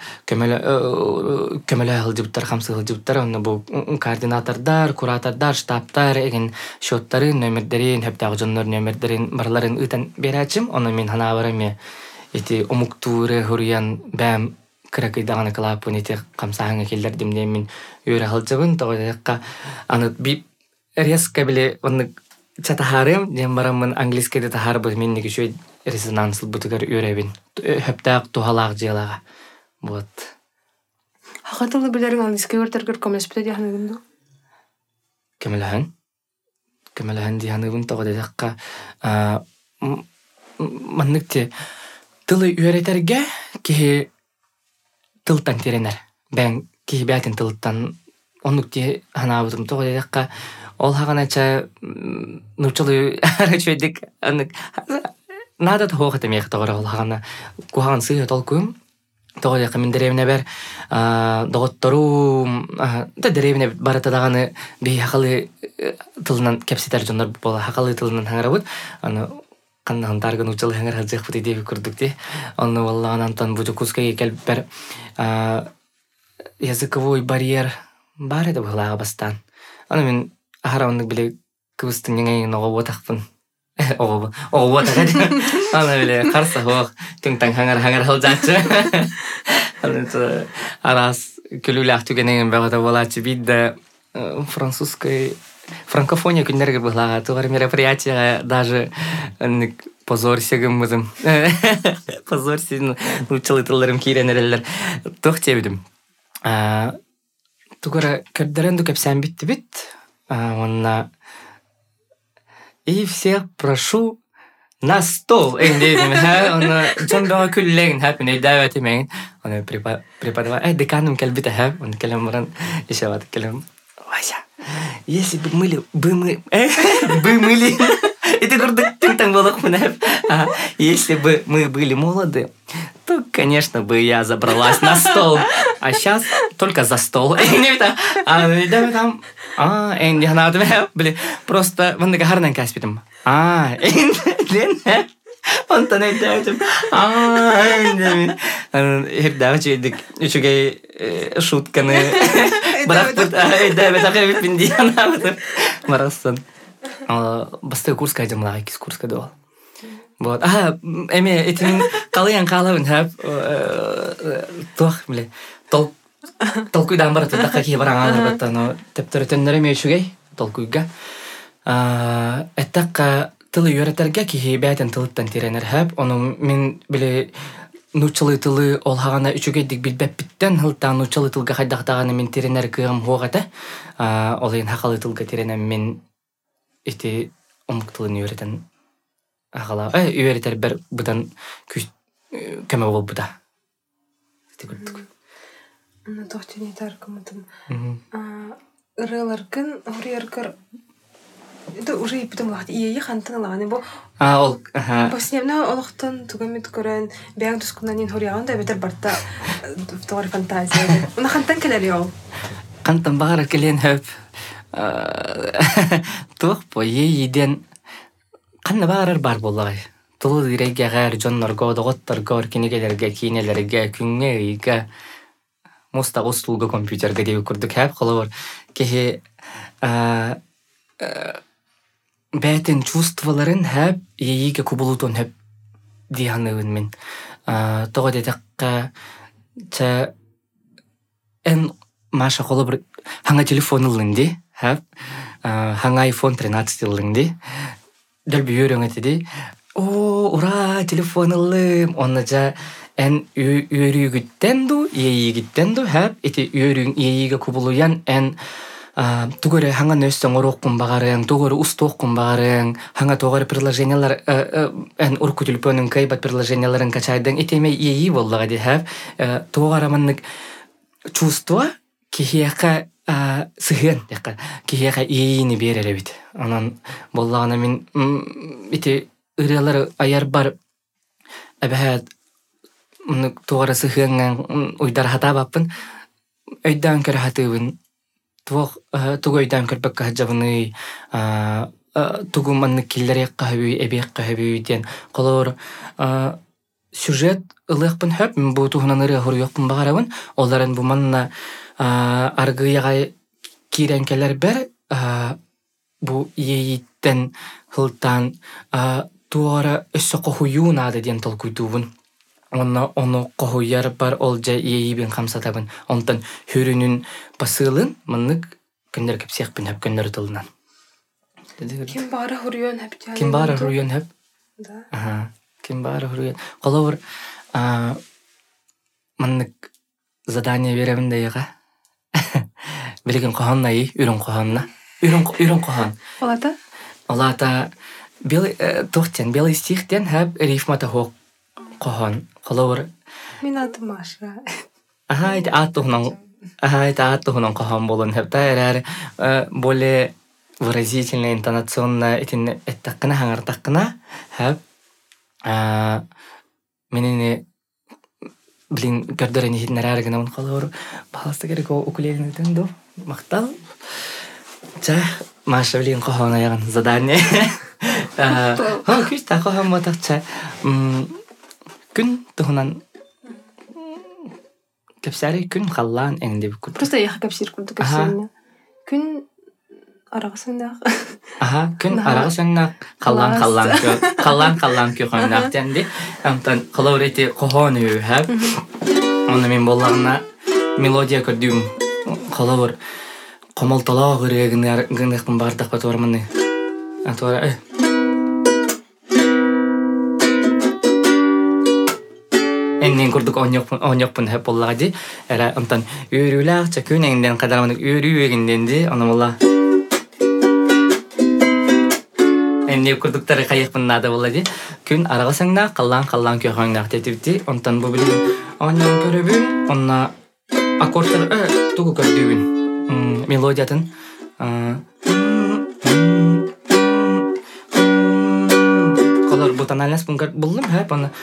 көмілі ғылдыбыттар, қамсы ғылдыбыттар, онны бұ координатордар, куратордар, штабтар, егін шоттары, нөмірдерін, хөптағы жонлар нөмірдерін, барларын ұйтан берәчім, оны мен хана бараме, еті омуктуры, хұриян, бәм, кіракайдағаны қылапын, еті қамсағыңа келдер демден мен өйрі ғылдыбын, тоғыдаққа аны біп резко біле, оны чатахарым, дем барамын английскийде тахарбыз, мен неге шөй резонанслы бұтығар өребін. Хөптақ тухалақ желаға. Вот. Хақатылы білерің английский өртергер көмес біті дейханығынды? Көмеліхін? Көмеліхін дейханығын тоғы дедіққа. Манныкте тылы өретерге кеге тылтан теренер. Бән кеге бәтін тылттан оннукте ханабытым тоғы дедіққа. Ол хағанача нұрчылы арачойдік надо того это мех того ролхана кухан сы толкуем того я мен деревне бер доготтору да деревне барата даганы би хакалы тылынан кепситер жондар бола хакалы тылынан хаңарабыт аны каннан таргын учул хаңар хажык бут деп көрдүк де аны валлаган антан бу жокускай келип бер языковой барьер бар еді былаға бастан. Аны мен ахарамындық біле кыбыстың еңейін оғы отақпын. Оғы отақ еді. Аны біле қарса оқ, түңтан хаңар хал жатшы. Аны арас күлілі ақтуген еңін бағыда болатшы бейді франкофония күндерге былаға туғар мероприятияға даже позорсегім мұзым. Позорсегім учылы тылларым кейренерелер. Тоқ тебідім. Тугара кырдырынду кепсән битти бит. Онна и всех прошу на стол. Эндейдим. Онна жон бага күллеген хәпин эйдәвәт имеген. Онна преподаватель деканым келбите хәп. Онна келем буран ишават келем. Вася. Если бы мы это гордо там было если бы мы были молоды, то, конечно, бы я забралась на стол. А сейчас только за стол. Просто вон такая гарная каспитом. Он то не дает. Давайте еще шутка на Марасон. Басты курска идем на кис курска до. Вот. Эми этим калыян калавын хап тох биле толкуйдан барат да какие бараңалар батта но тептеретеннер эми шугай толкуйга. Этакка тылы үйрәтәргә ки бәйтен тылыттан тиренер хап. Оны мен биле нучылы тылы олхагана үчүгедик билбеп биттен хылтан нучылы тылга хайдактаганы мен тиренер кыгым хогата. Олын хакалы тылга тиренем мен эти омуктылын үйрәтен агала. Үйрәтер бер будан күч кеме бол буда. Тигүлдүк. Аны тохтыны таркымытым. Ырыларкын урьяркар это уже и потом лахт и хантан лаганы бу. Ол. Поснемна олохтан тугамит көрән бәң тускуннан хоряган да бетер барта товар фантазия. Уна хантан келер ул. Хантан багар келен хөп. Тух по еден канна багар бар боллай. Тулы диреге гар жоннорго доготтор гор кинегелерге кинелерге күнгейге моста остулга компьютерге деп көрдүк хап кылыр. Кехе бәтен чувстволарын хәп ейге кубулутон хәп диянын мен. Тога дедакка та эн маша колы бир ханга телефон ылынды хәп ханга iPhone 13 ылынды. Дәл бүйөрөң этеди. Ура, телефон ылым. Онна жа эн үйрүгүттенду, ейгиттенду хәп эти үйрүң ейге кубулуян эн тугары ханга нөстөн ороккун багарын, тугары устоккун багарын, ханга тугары приложениялар эн урку телефонун кайбат приложенияларын качайдың итеме ии боллага ди хәп тугары маннык чувство кихияка сыгын яка кихияка иини береле бит. Анан боллагана мен ити ыралар аяр бар абахат тугары сыгын уйдар хата баппын өйдан кер хатыбын тугойдан көрбөк хаҗабыны тугуманны киллере кахби эбек кахби ден колор сюжет ылыкпын хөп бу тугунаныры хорюкпын багарабын оларын бу манна аргыяга киренкелер бер бу ийиттен хылтан туара өссөкохуюнады ден толкуйдубун Оны кохуяр бар ол жа иейбин камсатабын. Онтан хүрүнүн басылын мынык көндөр кепсекпин хеп көндөр тылынан. Ким бары хүрүн хеп жа. Ким бары хүрүн хеп? Да. Ким бары хүрүн. Колор мынык задание беремин да яга. Билген коханна үрүн коханна. Үрүн кохан. Олата тохтен белый стихтен хеп рифмата хок кохан. Колор. Мен атым Маша. Это атухнан кохан болон хеп та более выразительно, интонационно этаккына хаңартаккына хеп Менини блин көрдөрөн хитнерар гына колор баласта керек укулеледен до мактал. Ча Маша блин кохона яган задание. Күс та кохам матача. Күн тухнан кепсари күн халлан энди бикут. Просто я капсир курдук капсирне. Күн арагысында. Күн арагысында халлан көхөннак денди. Амтан колорети кохону хап. Оны мен боллагына мелодия көрдүм. Колор комолталаа гырегинер гыныкпын бардык батормыны. Атора Эннен курдук оньокпун хеп боллагади. Эра антан үйрүлак чакүнеңден кадарамын үйрүегинденди. Аны болла. Энне курдуктары кайыкпын нада боллади. Күн арагасыңда каллан көхөңнак тетипти. Антан бу билген оньон көрөбүн. Онна аккордтар тугу көрдүбүн. Мелодиятын колор бутан алас бункар булдум хеп аны.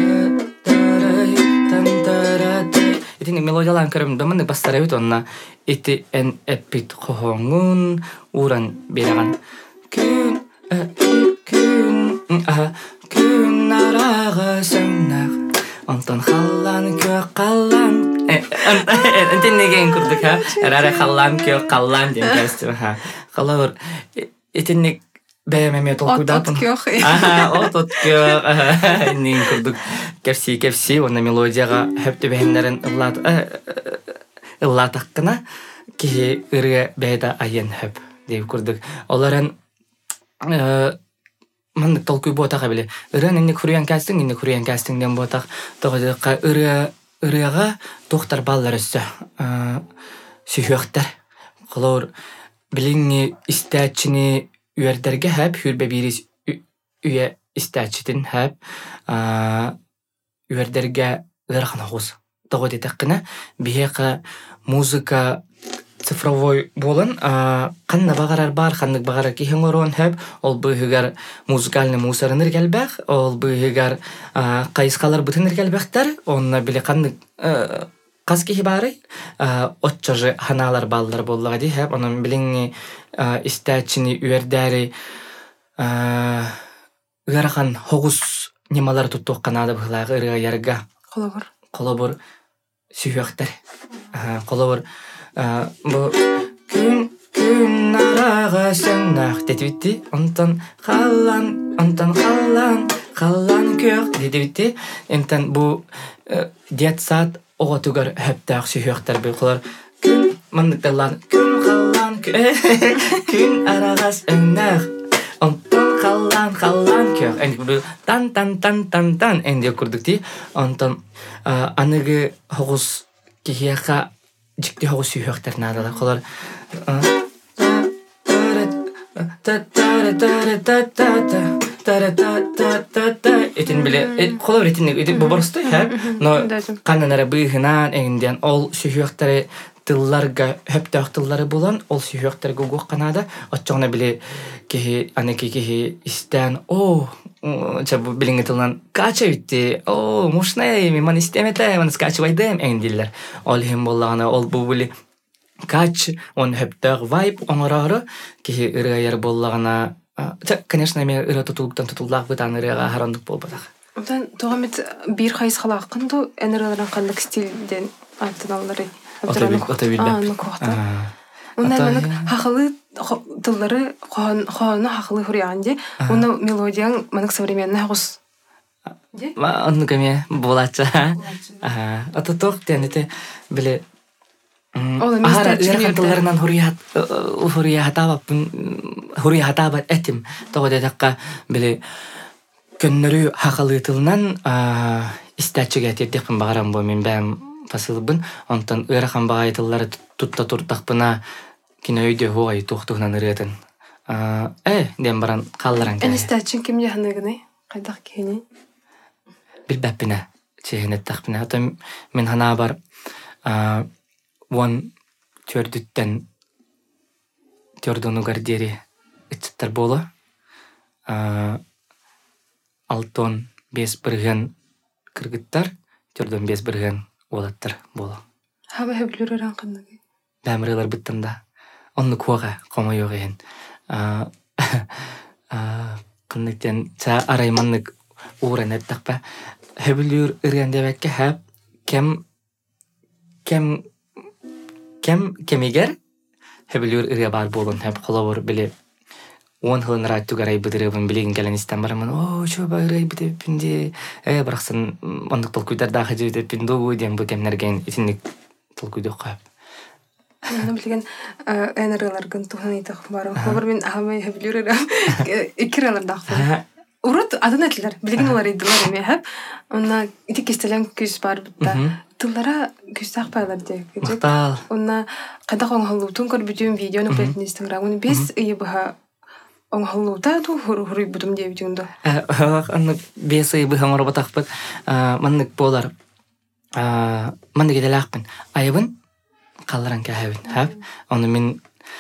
Итин мелодиялан көрөм дымын бастарабыт онна ити эн эпит кохоңун уран бераган. Күн арагасыңда антан халлан кök каллан. Антен неген курдук ха? Эрара халлан кök каллан деген кастым ха. Колор итинник бәйәмәме толкудат. Отот кök. Отот кök. Неген курдук кепси оны мелодияга хөптө бәйнәрен ыллатак кына ки ырга бәйдә айын хөп дип курдук. Оларын мандык толкуй ботага биле. Ыран инде курыян кастингден ботак тогодыкка ырыга доктор баллар өссө. Сүйөктөр. Колор билинги истәчини үйөрдерге хәп хүрбе бирис үйе истәчитин хәп үйөрдерге ырхан хос. Тогодытаккына бияка музыка цифровой болын, қанна бағарар бар, қаннық бағарар кейхен орон хөп, ол бұйығар музыкальный мусорыныр кәлбәқ, ол бұйығар қайысқалар бұтыныр кәлбәқтар, онына біле қаннық қаз кейхі бары, отчажы ханалар балдар болуға дей хөп, оның біліңі істәчіні үйердәрі ұғарған хоғыз немалар тұттуқ қанады бұғылағы ұрыға ярға. Қолабыр сүйіқтар. Қолабыр bu gün aragасыңнак детибитти. Онтан халлан кök детибитти. Энтен бу детсат оготугар хөптак сүйөктөр булар. Күн мандыкталар. Күн халлан күн арагасыңнак. Онтан халлан кök. Энди бу тан энди курдукти. Онтан аныгы хогус кихяка жикти хогус сүйөктөр надалар. Колор этин биле колор этин бу борстой ха. Но каннара быгынан эңден ол сүйөктөрү тылларга хөптөк тыллары болан ол сүйөктөр гугук канада отчоңна биле ки анеки ки истен чабу билинге тылнан кача битти. Мушнай мен истемете мен скачвайдым эңдиллер. Ол хем боллагана ол бу биле кач он хөптөк вайб оңорору ки ыргайар боллагана. Конечно, мен ыры тутулдак бытан ырыга харандык болбатак. Онтан тогамет бир хайс халакынды энерлерин кандык стилден аттаналары. Онда хахалы тыллары ханы хахалы хурянди. Онда мелодияң манак современный хагыс. Онда кеме болача. Ата ток тенете биле Ара тылларынан хуриятабат этим. Тогода такка биле көннөрү хахалы тылынан истачыга тетекин багарам бу мен бәм фасылбын. Онтан ырахан багайтыллары тутта туртакпына кинөйдө хуай тохтугунан ырытын. Дем баран калларан. Энистачин кимде ханыгыны? Кайдак кени? Билбәппине чехенет такпина. Ата мен хана бар вон төрдүнү гардери ичтер боло. Алтон бес бирген кыргыттар, төрдөн бес бирген олаттар боло. Хаба хөблүрөрөн кынныгы. Бәмрелер биттемда. Онны куага кома yok ehen. Кынныктен са арайманнык ууран эттакпа. Хөблүр иргендебекке хап кемигер хөблүр ирге бар болон хап колобор биле 10 хылын раттугарай быдырыбын билеген келен истен барамын. О, чоба ирай битепинде. Браксын ондук толкуйдар дахы жебитепин догу дем бу темнерген итинник толкуйдук кап. Оны билген энергияларгын туханы итак бар. Хобар мен ахамай хөблүрөрөм. Икиралар дакпы. Урут адын этлер. Билген олар идилар эме хап. Онна итик кестелен күз бар бутта. Тыллара күз такпайлар деп. Мактал. Онна кайда коңголуутун көрбүтүм видеону бетин Инстаграмын бес ыйбыха оңголуута ту хуруй бутум деп жундо. Анны бес ыйбыха морбатакпыт. Маннык болар. Маннык эделакпын. Айыбын қалларан кәһәбин хәп. Оны мен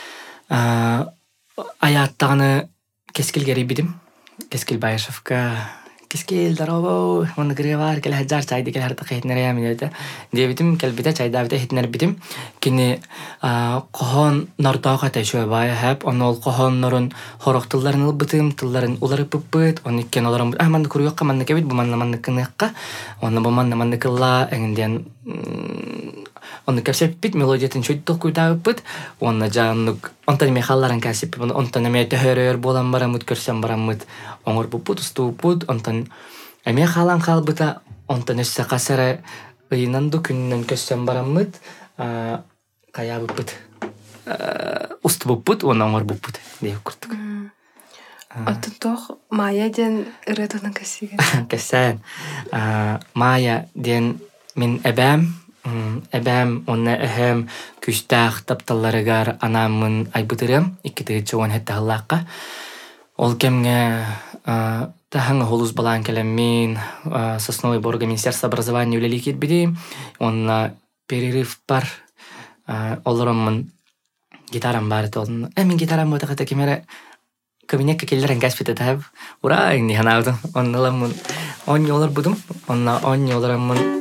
аяттагыны кескил гери бидим. Кескил Байышевка кескил дарабо оны гревар кел хаджар чайды кел харта хетнер я минете. Дебитим кел бита чайда бита хетнер бидим. Кини кохон нортага тәшөй бай хәп. Оны ол кохон норын хороктылларын битим, тылларын улары пыппыт. Оны кен оларын манны күрүккә манны кебит бу манны кыныкка. Оны бу манны кылла эңден он кәсеп бит мелодиятын чөйт толкуйда бит. Он жаннык онтан мехалларын кәсеп онтан мете хөрөр болан барамыт көрсәм барамыт. Оңор бу путусту пут онтан мехалан халбыта онтан эссе касара ыйнанду күннән көссәм барамыт. Кая бит. Уст бу пут он оңор бу пут дип күрдек. Аттох Майя ден ретонан кәсиген. Кәсән. Майя ден мин Эбәм онна эһәм күстәх тапталларыгар анамын айбытырым 2-10 хәтта халлакка. Ол кемгә тахаңа холус балан келем мин Сосновый Бор Министерство образования үлеликет биди. Онна перерыв бар. Олорымын гитарам бар толын. Мен гитарам бата ката кемере кабинетке келдерен гаспите тап. Ура инди ханавды. Онналамын он йолар будым. Онна он йоларамын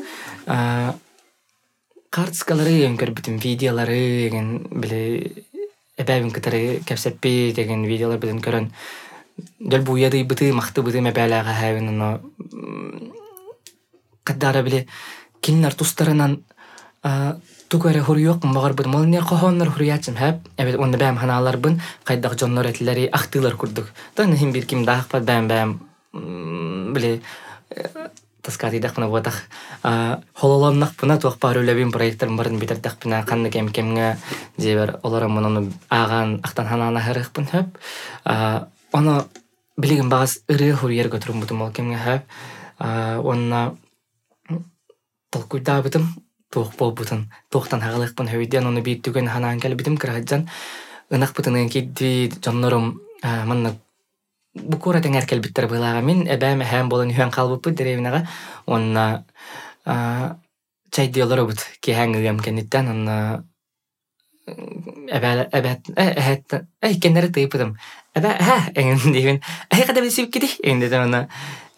картскалары еңкер битим видеолары деген биле эбәбин кытары кәпсәппи деген видеолар битен көрөн дөл буяды быты махты быты мәбәләгә хәвен но кадара биле киннар тустарынан тугары хурыйок магар бит молнер кохоннар хурыячым хәп эбет онда бәм ханалар бин кайдак жоннор этләре ахтылар курдук таны хим бир ким дахпа бәм биле таскати дахпына бодах хололоннак пына туак парулебин проекттарын барын битердак пына канны кемгә дебер оларым моны аган ахтан ханана харыкпын хөп аны билеген багас ыры хурьер götürüm бутум ол кемгә хөп онна толкуйда битим туак бол бутун токтан хагалыкпын хөйден аны бит түген ханан кел битим кыраҗан ынак бутын кидди жоннорум манна бу кора теңер кел биттер былага мен эбәм һәм болын һәм калбып деревнага онна чайдылар бут ки хәңгәм кенеттән онна эбәт кеннәр тыйпым эндивен када бисип киди эндә онна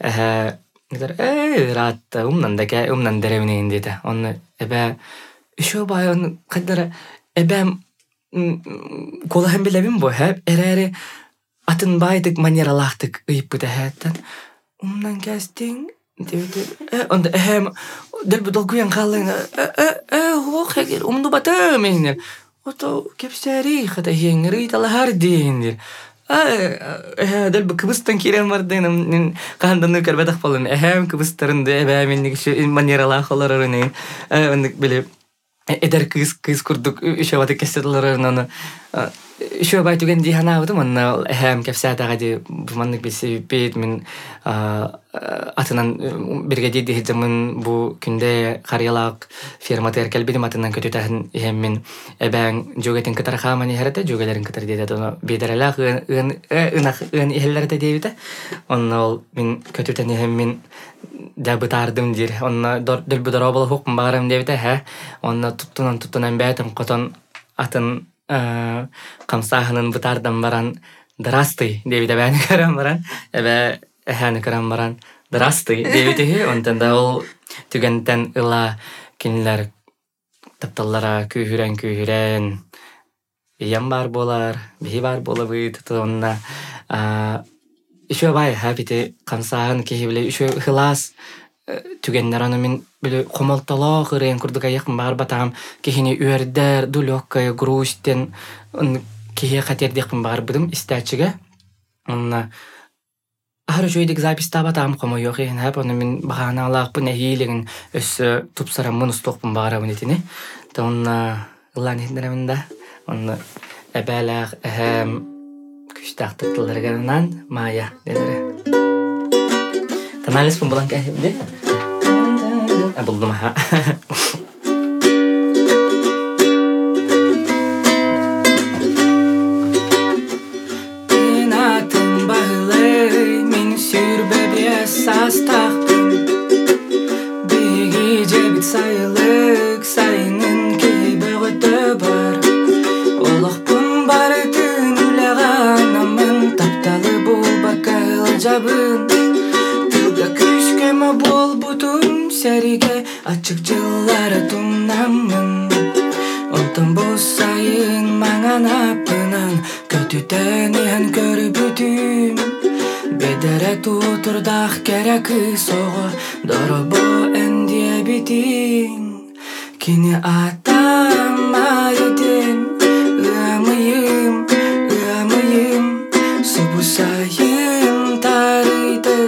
рат умнан деревне индә онна эбә шо байон кадара эбәм кола һәм билебим бу һәп эрере атын байдык манералахтык ыйпы тәһәттән умнан кәстең диде онда эһәм дәл бу долгуян калын хогер умду бата меннер ото кепсәри хата һеңри талар диндер дәл бу кыбыстан кирәм бардын кандан кәрбәдәк булын эһәм кыбыстарында бә менник шу манералахлар арны онда билеп эдер кыз курдук ишәвәт кәсәтләрен Еще байтуген дихана вот man hem kefsata gadi mannik bisi bit min atынан бирге ди zaman bu күндә карьялак фирма теркел бидим атынан көтөтәһен hem эбәң жөгетен кытар хамани харата жөгеләрен кытар диде тоны бидерәләк ын иһелләрдә дибите оннол мин көтөтәне hem min дәбитардым дир онна дөл бидорабыл хукм барам дибите ха онна туттунан бәтем котон атын камсаханын бутардан баран дарасты дебиде бәне көрәм баран эбә әһәне көрәм баран Здравствуй, девитихи, онтанда ол түгентен ыла кинилер тапталлара күйхүрен иям бар болар, бихи бар болабыт, онна еще бай хабите камсахан кихибле еще хылас түгеннер аны мен биле комолтолоо кырын курдук аяк бар батам кихини үрдер дулёккая грустен кихи хатердик бар быдым истачыга онна ары жойдик запись табатам комо yok ен хап аны мен баганалак бу нехилеген өс тупсара мунустокпун бара бунетини та онна лан хендереминда онна эбелак күштактыктыларганан мая дедере Таналис pun bulan kayak gini. Belum ha. Inatım bağlı min sürbe esas tahtım. Bir gece bit sayılık sayının gibi öteber. Olaq pun barıtın üleğen amın taptalı bul bakal cabın. Küskeme bol butun serige açık жыллары туннамын Онтон болсайын маңан апынан көтүтенен көрбүтүм Бедере тутурдах керек сого доробо эндие битин Кини атам айден ымыйым субусайын тарыйды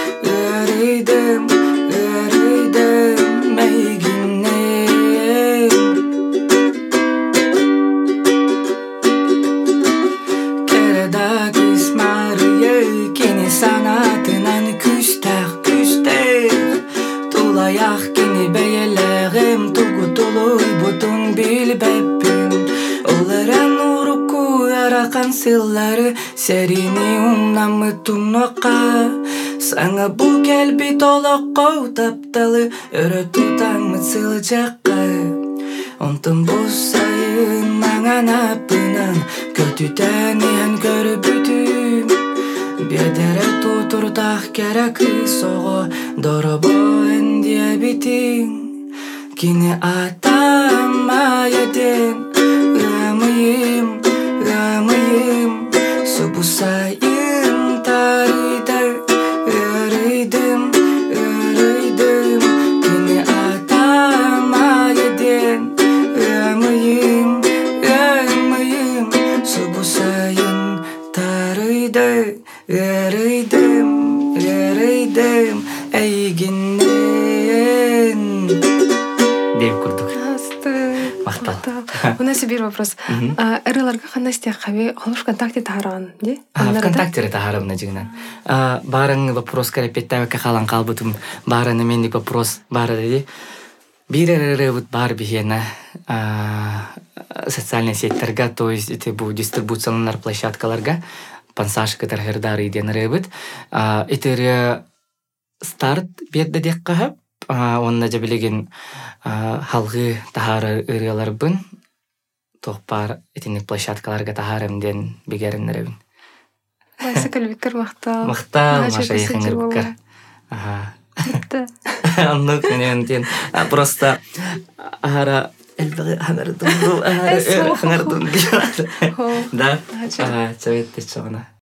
Sanatından küster Tulayak kini beyelerim Tugutuluy butun bilbepim Olaren uruku yarakan sılları Serini umnamı tunnoqa Sana bu kelbi tolokko taptalı Örö tutanmı sılcakka Ontun bolsayın mangan apınan Kötüten ihan görübütüm Бедере тутурдах керек сого доробо эндие битин Кини атам айден ымыйым субусайын тарыйдым Кини атам айден ымыйым субусайын Ярыйдым, әйгеннен Деп күрдік. Мақтал. У нас бір вопрос. Әрілерге қандай істе қабе олып ВКонтакте тағараған, де? ВКонтакте тағарымна жігінен. Барын вопрос кәрепеттәуі қалан қалбытым. Барын мендік вопрос бары деді. Бір бар бігені социальный сеттерге, то есть бұл дистрибуциялар площадкаларға пансашка тархердары иден ребит. Итер старт берді дек қағып, онна жабілеген халғы тахары ырылар бұн, тоқпар етінік площадкаларға тахарымден бігерін ребін. Байсы кәлбеккер мақтал. Мақтал, маша ехіңір біккер. Аннық менен просто ара элбеги ханардун. Да, чаветте чоғына.